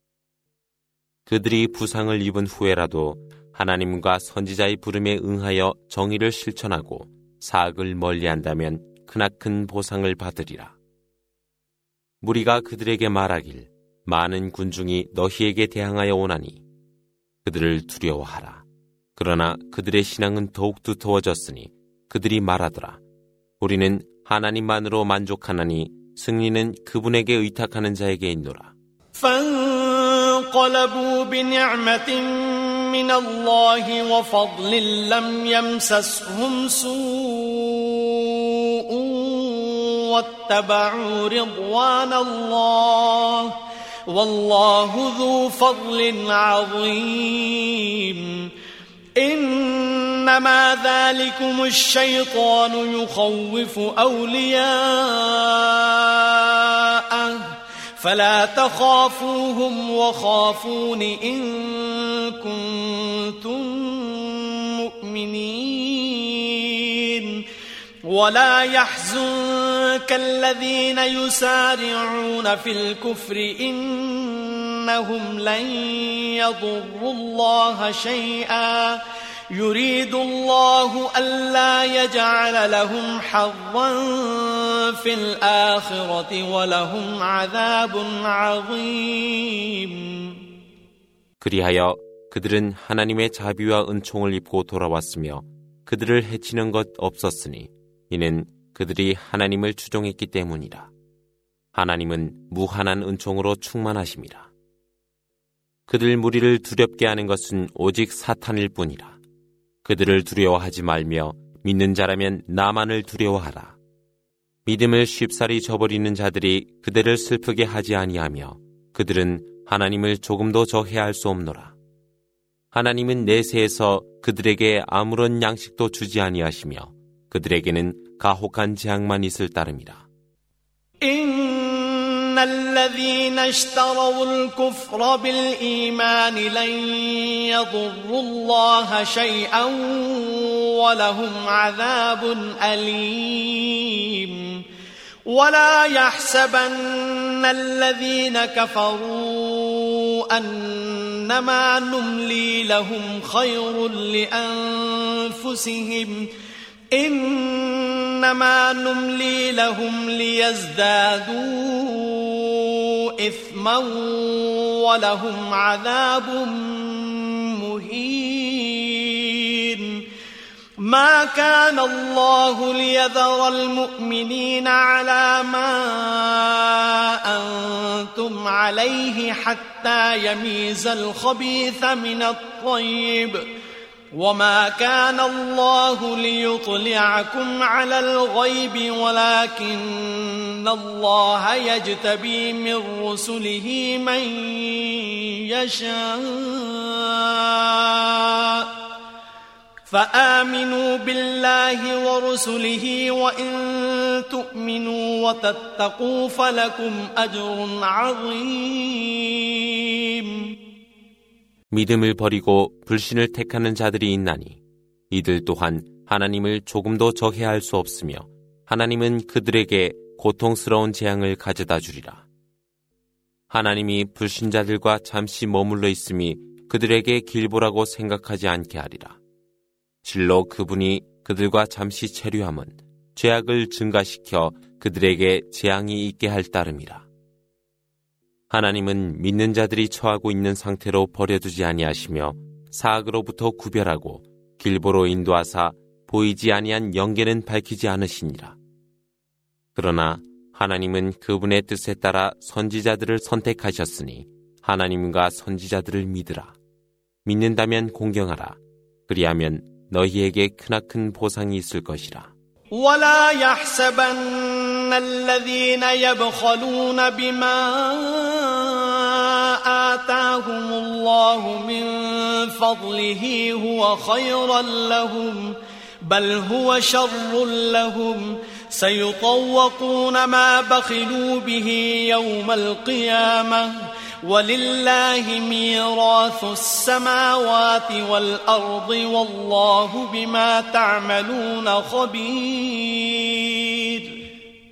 그들이 부상을 입은 후에라도 하나님과 선지자의 부름에 응하여 정의를 실천하고 사악을 멀리한다면 크나큰 보상을 받으리라. 무리가 그들에게 말하길 많은 군중이 너희에게 대항하여 오나니 그들을 두려워하라. 그러나 그들의 신앙은 더욱 두터워졌으니 그들이 말하더라. 우리는 하나님만으로 만족하나니 승리는 그분에게 의탁하는 자에게 있노라. فانقلبوا بنعمة من الله وفضل لم يمسسهم سوء واتبعوا رضوان الله والله ذو فضل عظيم إنما ذلكم الشيطان يخوف أولياءه فلا تخافوهم وخافون إن كنتم مؤمنين ولا يحزنك الذين يسارعون في الكفر إنهم لن يضروا الله شيئا يريد الله ألا يجعل لهم حظا في الآخرة ولهم عذاب عظيم. 그리하여 그들은 하나님의 자비와 은총을 입고 돌아왔으며 그들을 해치는 것 없었으니 이는 그들이 하나님을 추종했기 때문이라. 하나님은 무한한 은총으로 충만하심이라. 그들 무리를 두렵게 하는 것은 오직 사탄일 뿐이라. 그들을 두려워하지 말며 믿는 자라면 나만을 두려워하라. 믿음을 쉽사리 저버리는 자들이 그들을 슬프게 하지 아니하며 그들은 하나님을 조금도 저해할 수 없노라. 하나님은 내세에서 그들에게 아무런 양식도 주지 아니하시며 그들에게는 가혹한 재앙만 있을 따름이라. إن الذين اشتروا الكفر بالإيمان لن يضروا الله شيئا ولهم عذاب أليم ولا يحسبن الذين كفروا أنما نملي لهم خير لأنفسهم إنما نملي لهم ليزدادوا إثما ولهم عذاب مهين ما كان الله ليذر المؤمنين على ما أنتم عليه حتى يميز الخبيث من الطيب وما كان الله ليطلعكم على الغيب ولكن الله يجتبي من رسله من يشاء فآمنوا بالله ورسله وإن تؤمنوا وتتقوا فلكم أجر عظيم 믿음을 버리고 불신을 택하는 자들이 있나니 이들 또한 하나님을 조금도 저해할 수 없으며 하나님은 그들에게 고통스러운 재앙을 가져다 주리라. 하나님이 불신자들과 잠시 머물러 있음이 그들에게 길보라고 생각하지 않게 하리라. 실로 그분이 그들과 잠시 체류함은 죄악을 증가시켜 그들에게 재앙이 있게 할 따름이라. 하나님은 믿는 자들이 처하고 있는 상태로 버려두지 아니하시며 사악으로부터 구별하고 길보로 인도하사 보이지 아니한 영계는 밝히지 않으시니라. 그러나 하나님은 그분의 뜻에 따라 선지자들을 선택하셨으니 하나님과 선지자들을 믿으라. 믿는다면 공경하라. 그리하면 너희에게 크나큰 보상이 있을 것이라. ولا يحسبن الذين يبخلون بما آتاهم الله من فضله هو خيرا لهم بل هو شر لهم سيطوقون ما بخلوا به يوم القيامة ولله ميراث السماوات والأرض والله بما تعملون خبير.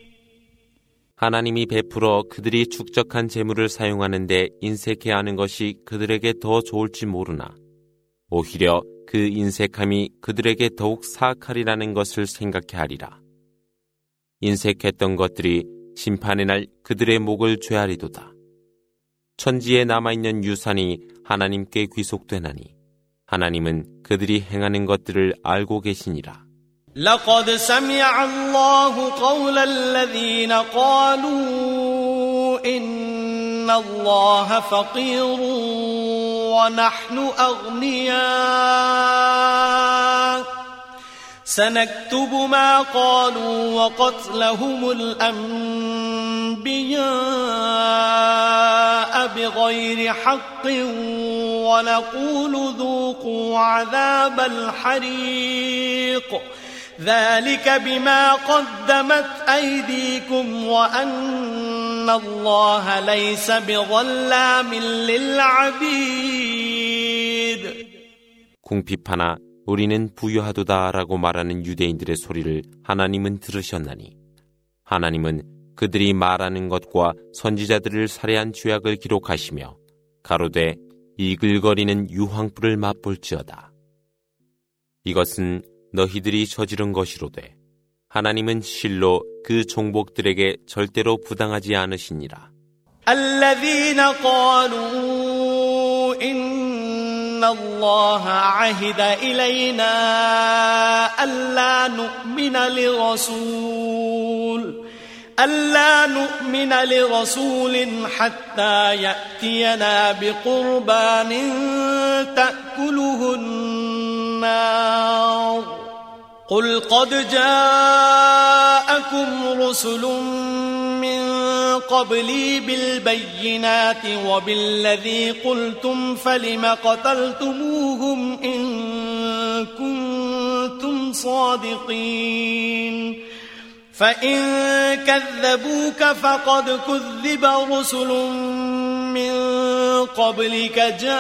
하나님이 베풀어 그들이 축적한 재물을 사용하는데 인색해 하는 것이 그들에게 더 좋을지 모르나 오히려 그 인색함이 그들에게 더욱 사악하리라는 것을 생각해 하리라. 인색했던 것들이 심판의 날 그들의 목을 죄하리도다. 천지에 남아있는 유산이 하나님께 귀속되나니 하나님은 그들이 행하는 것들을 알고 계시니라. لقد سمع الله قول الذين قالوا إن الله فقير ونحن أغنياء سنكتب ما قالوا وقتلهم الأنبياء بغير حق ونقول ذوقوا عذاب الحريق ذلك بما قدمت أيديكم وأن الله ليس بظلام للعبيد. 궁핍하나 우리는 부유하도다라고 말하는 유대인들의 소리를 하나님은 들으셨나니 하나님은 그들이 말하는 것과 선지자들을 살해한 죄악을 기록하시며 가로되 이글거리는 유황불을 맛볼지어다. 이것은 너희들이 저지른 것이로되 하나님은 실로 그 종복들에게 절대로 부당하지 않으시니라. الذين قالوا إن الله عهد إلينا ألا نؤمن لرسول ألا نؤمن لرسول حتى يأتينا بقربان تأكله النار قل قد جاءكم رسل من قبلي بالبينات وبالذي قلتم فلم قتلتموهم إن كنتم صادقين فإن كذبوك فقد كذب رسل من قبلك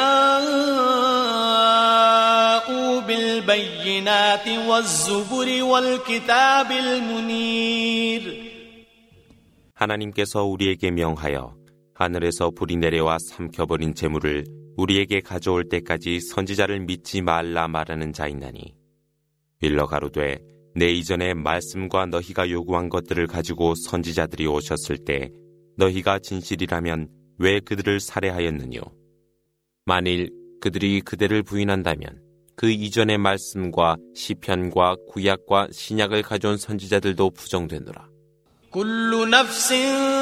جاءوا بالبينات والزبر والكتاب المنير. 하나님께서 우리에게 명하여 하늘에서 불이 내려와 삼켜버린 재물을 우리에게 가져올 때까지 선지자를 믿지 말라 말하는 자 있나니 일러 가로되 내 이전에 말씀과 너희가 요구한 것들을 가지고 선지자들이 오셨을 때 너희가 진실이라면 왜 그들을 살해하였느뇨? 만일 그들이 그대를 부인한다면 그 이전의 말씀과 시편과 구약과 신약을 가져온 선지자들도 부정되노라. كل نفس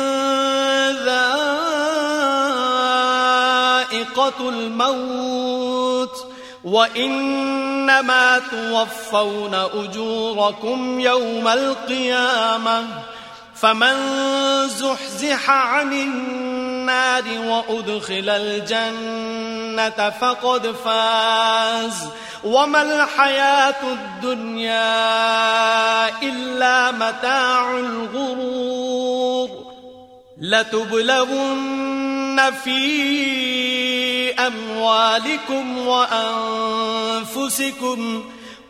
ذائقة الموت وإنما توفون أجوركم يوم القيامة فمن زحزح عن النار وأدخل الجنة فقد فاز وما الحياة الدنيا إلا متاع الغرور لتبلغن في أموالكم وأنفسكم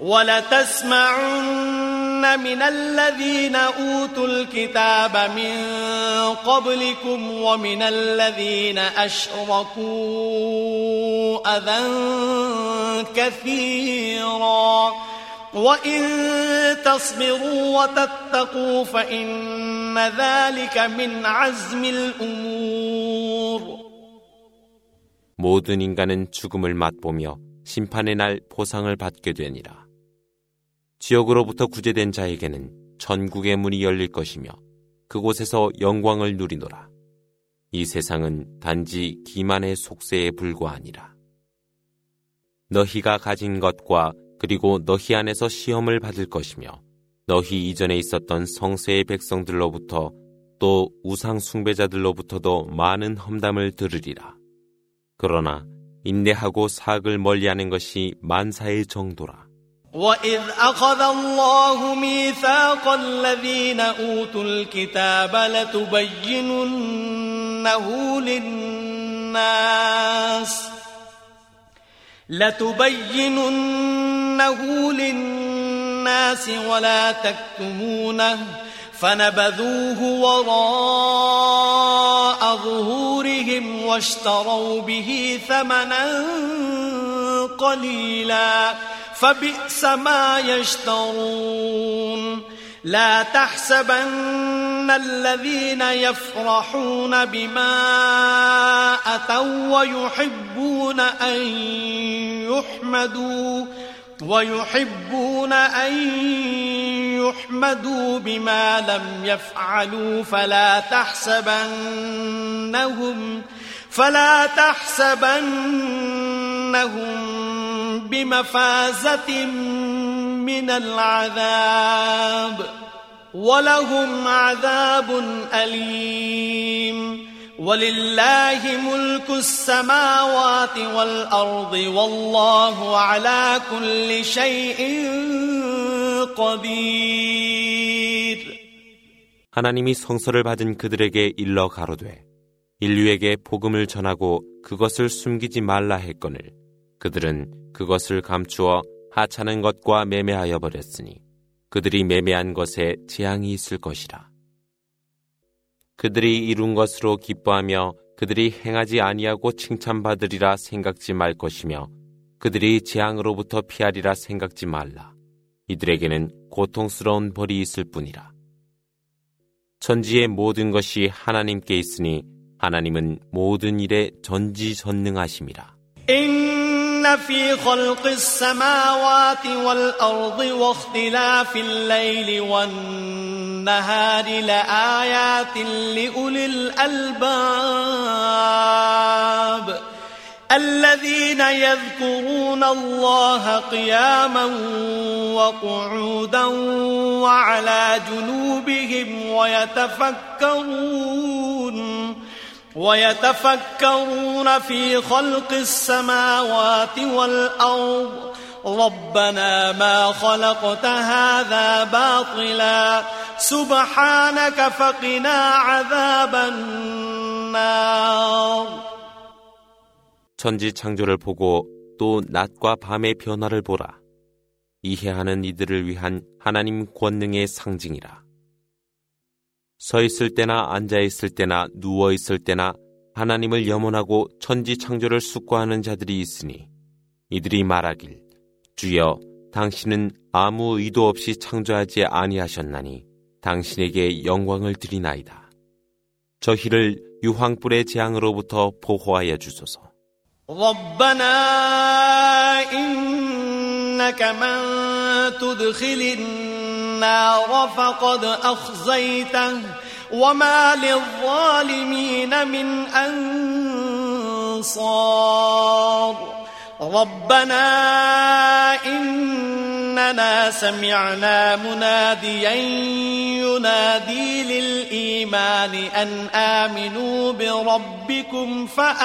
ولتسمعن من الذين أوتوا الكتاب من قبلكم ومن الذين أشركوا أذى كثيرا وإن تصبروا وتتقوا فإن ذلك من عزم الأمور. 모든 인간은 죽음을 맛보며 심판의 날 보상을 받게 되니라. 지옥으로부터 구제된 자에게는 천국의 문이 열릴 것이며 그곳에서 영광을 누리노라. 이 세상은 단지 기만의 속세에 불과하니라. 너희가 가진 것과 그리고 너희 안에서 시험을 받을 것이며 너희 이전에 있었던 성세의 백성들로부터 또 우상 숭배자들로부터도 많은 험담을 들으리라. 그러나 인내하고 사악을 멀리하는 것이 만사의 정도라. وَإِذْ أَخَذَ اللَّهُ مِيثَاقَ الَّذِينَ أُوتُوا الْكِتَابَ لَتُبَيِّنُنَّهُ لِلنَّاسِ لَتُبَيِّنُنَّهُ لِلنَّاسِ وَلَا تَكْتُمُونَهُ فنبذوه وراء ظهورهم واشتروا به ثمنا قليلا فبئس ما يشترون لا تحسبن الذين يفرحون بما أتوا ويحبون أن يحمدوا ويحبون أن يحمدوا بما لم يفعلوا فلا تحسبنهم فلا تحسبنهم بمفازة من العذاب ولهم عذاب أليم ولله ملك السماوات والأرض والله على كل شيء قدير. 하나님이 성서를 받은 그들에게 일러 가로되 인류에게 복음을 전하고 그것을 숨기지 말라 했거늘 그들은 그것을 감추어 하찮은 것과 매매하여 버렸으니 그들이 매매한 것에 재앙이 있을 것이라. 그들이 이룬 것으로 기뻐하며 그들이 행하지 아니하고 칭찬받으리라 생각지 말 것이며 그들이 재앙으로부터 피하리라 생각지 말라. 이들에게는 고통스러운 벌이 있을 뿐이라. 천지의 모든 것이 하나님께 있으니 하나님은 모든 일에 전지전능하심이라. إن في خلق السماوات والأرض واختلاف الليل والنهار لآيات لأولي الألباب الذين يذكرون الله قياما وقعودا وعلى جنوبهم ويتفكرون ويتفكرون في خلق السماوات والأرض ربنا ما خلقت هذا باطلا سبحانك فقنا عذاب النار. 천지 창조를 보고 또 낮과 밤의 변화를 보라. 이해하는 이들을 위한 하나님 권능의 상징이라. 서 있을 때나 앉아 있을 때나 누워 있을 때나 하나님을 염원하고 천지 창조를 숙고하는 자들이 있으니 이들이 말하길 주여 당신은 아무 의도 없이 창조하지 아니하셨나니 당신에게 영광을 드리나이다. 저희를 유황불의 재앙으로부터 보호하여 주소서. ربنا إنك من تدخل النار فقد أخزيته وما للظالمين من أنصار ربنا إننا سمعنا مناديا ينادي للإيمان أن آمنوا بربكم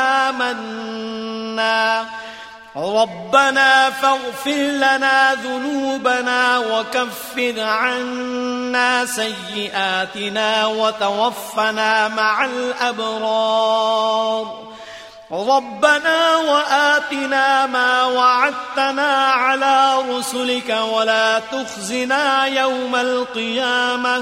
فآمنا ربنا فاغفر لنا ذنوبنا وكفر عنا سيئاتنا وتوفنا مع الأبرار ربنا وآتنا ما وعدتنا على رسلك ولا تخزنا يوم القيامة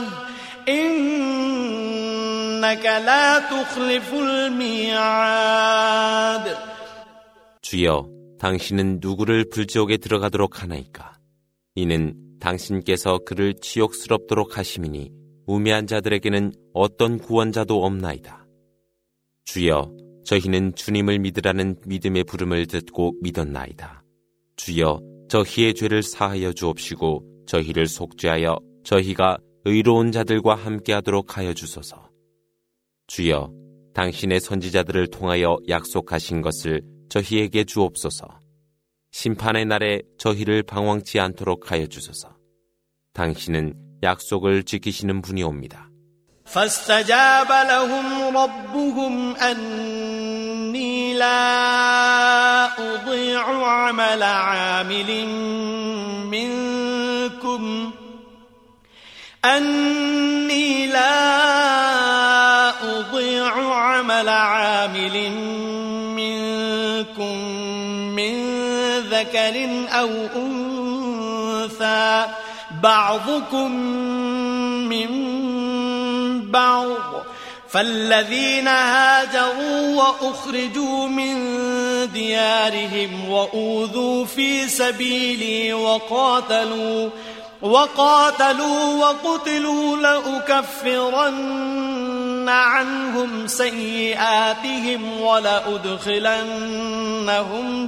إنك لا تخلف الميعاد. 주여, 당신은 누구를 불지옥에 들어가도록 하나이까? 이는 당신께서 그를 치욕스럽도록 하심이니 우매한 자들에게는 어떤 구원자도 없나이다. 주여, 저희는 주님을 믿으라는 믿음의 부름을 듣고 믿었나이다. 주여, 저희의 죄를 사하여 주옵시고 저희를 속죄하여 저희가 의로운 자들과 함께하도록 하여 주소서. 주여, 당신의 선지자들을 통하여 약속하신 것을 저희에게 주옵소서. 심판의 날에 저희를 방황치 않도록 하여 주소서. 당신은 약속을 지키시는 분이옵니다. فاستجاب لهم ربهم أني لا أضيع عمل عامل منكم أني لا أضيع عمل عامل منكم من ذكر أو أنثى بعضكم من بعض فالذين هاجروا وأخرجوا من ديارهم وأوذوا في سبيلي وقاتلوا وقاتلوا وقتلوا لأكفرن عنهم سيئاتهم ولأدخلنهم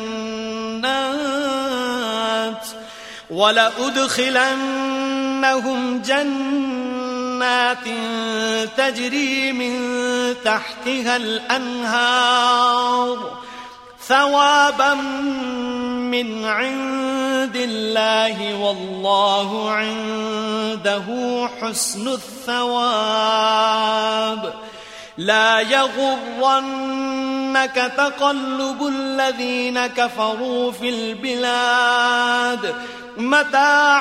جنات ولأدخلنهم جنات تجري من تحتها الأنهار ثوابا من عند الله والله عنده حسن الثواب لا يغرنك تقلب الذين كفروا في البلاد متاع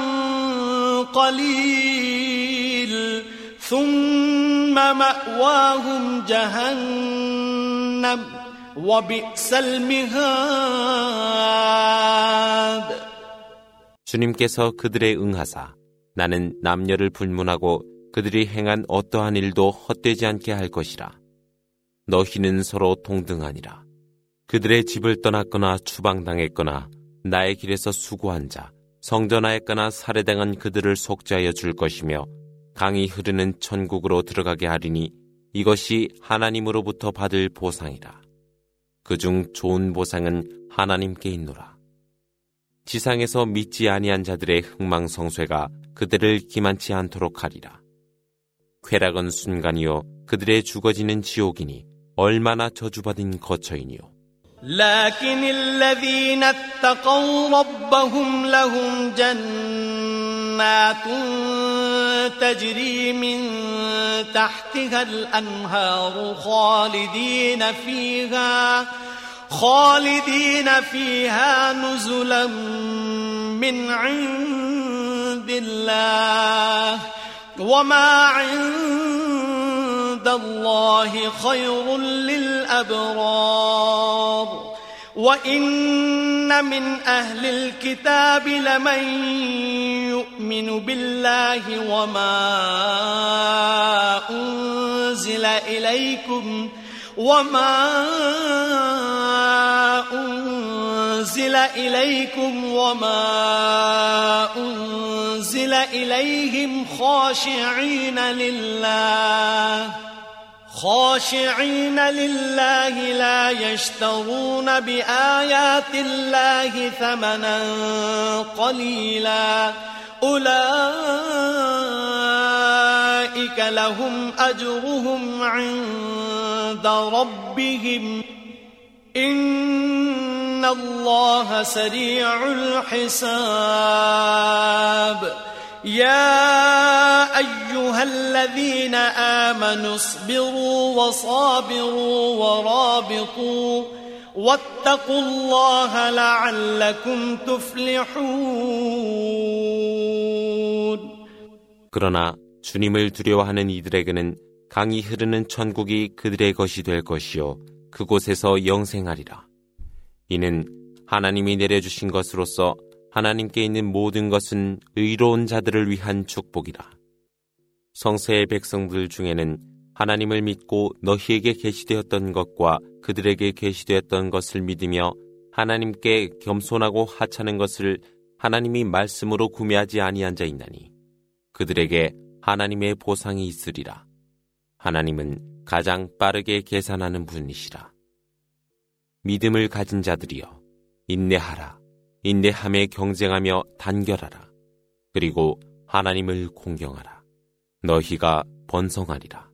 قليل ثم مأواهم جهنم وبئس المهاد. 주님께서 그들의 응하사 나는 남녀를 불문하고 그들이 행한 어떠한 일도 헛되지 않게 할 것이라. 너희는 서로 동등하니라. 그들의 집을 떠났거나 추방당했거나 나의 길에서 수고한 자, 성전하였거나 살해당한 그들을 속죄하여 줄 것이며 강이 흐르는 천국으로 들어가게 하리니 이것이 하나님으로부터 받을 보상이라. 그중 좋은 보상은 하나님께 있노라. 지상에서 믿지 아니한 자들의 흥망성쇠가 그들을 기만치 않도록 하리라. 쾌락은 순간이요 그들의 죽어지는 지옥이니 얼마나 저주받은 거처이니요. لكن الذين اتقوا ربهم لهم جنات تجري من تحتها الأنهار خالدين فيها خالدين فيها نزلا من عند الله وما عند الله خير للأبرار وإن من أهل الكتاب لمن يؤمن بالله وما أنزل إليكم وما أنزل أنزل إليكم وما أنزل إليهم خاشعين لله خاشعين لله لا يشترون بآيات الله ثمنا قليلا أولئك لهم أجرهم عند ربهم إن الله سريع الحساب يا أيها الذين آمنوا اصبروا وصابروا ورابطوا واتقوا الله لعلكم تفلحون. 그러나 주님을 두려워하는 이들에게는 강이 흐르는 천국이 그들의 것이 될 것이요 그곳에서 영생하리라. 이는 하나님이 내려주신 것으로서 하나님께 있는 모든 것은 의로운 자들을 위한 축복이라. 성세의 백성들 중에는 하나님을 믿고 너희에게 계시되었던 것과 그들에게 계시되었던 것을 믿으며 하나님께 겸손하고 하찮은 것을 하나님이 말씀으로 구매하지 아니한 자 있나니 그들에게 하나님의 보상이 있으리라. 하나님은 가장 빠르게 계산하는 분이시라. 믿음을 가진 자들이여 인내하라. 인내함에 경쟁하며 단결하라. 그리고 하나님을 공경하라. 너희가 번성하리라.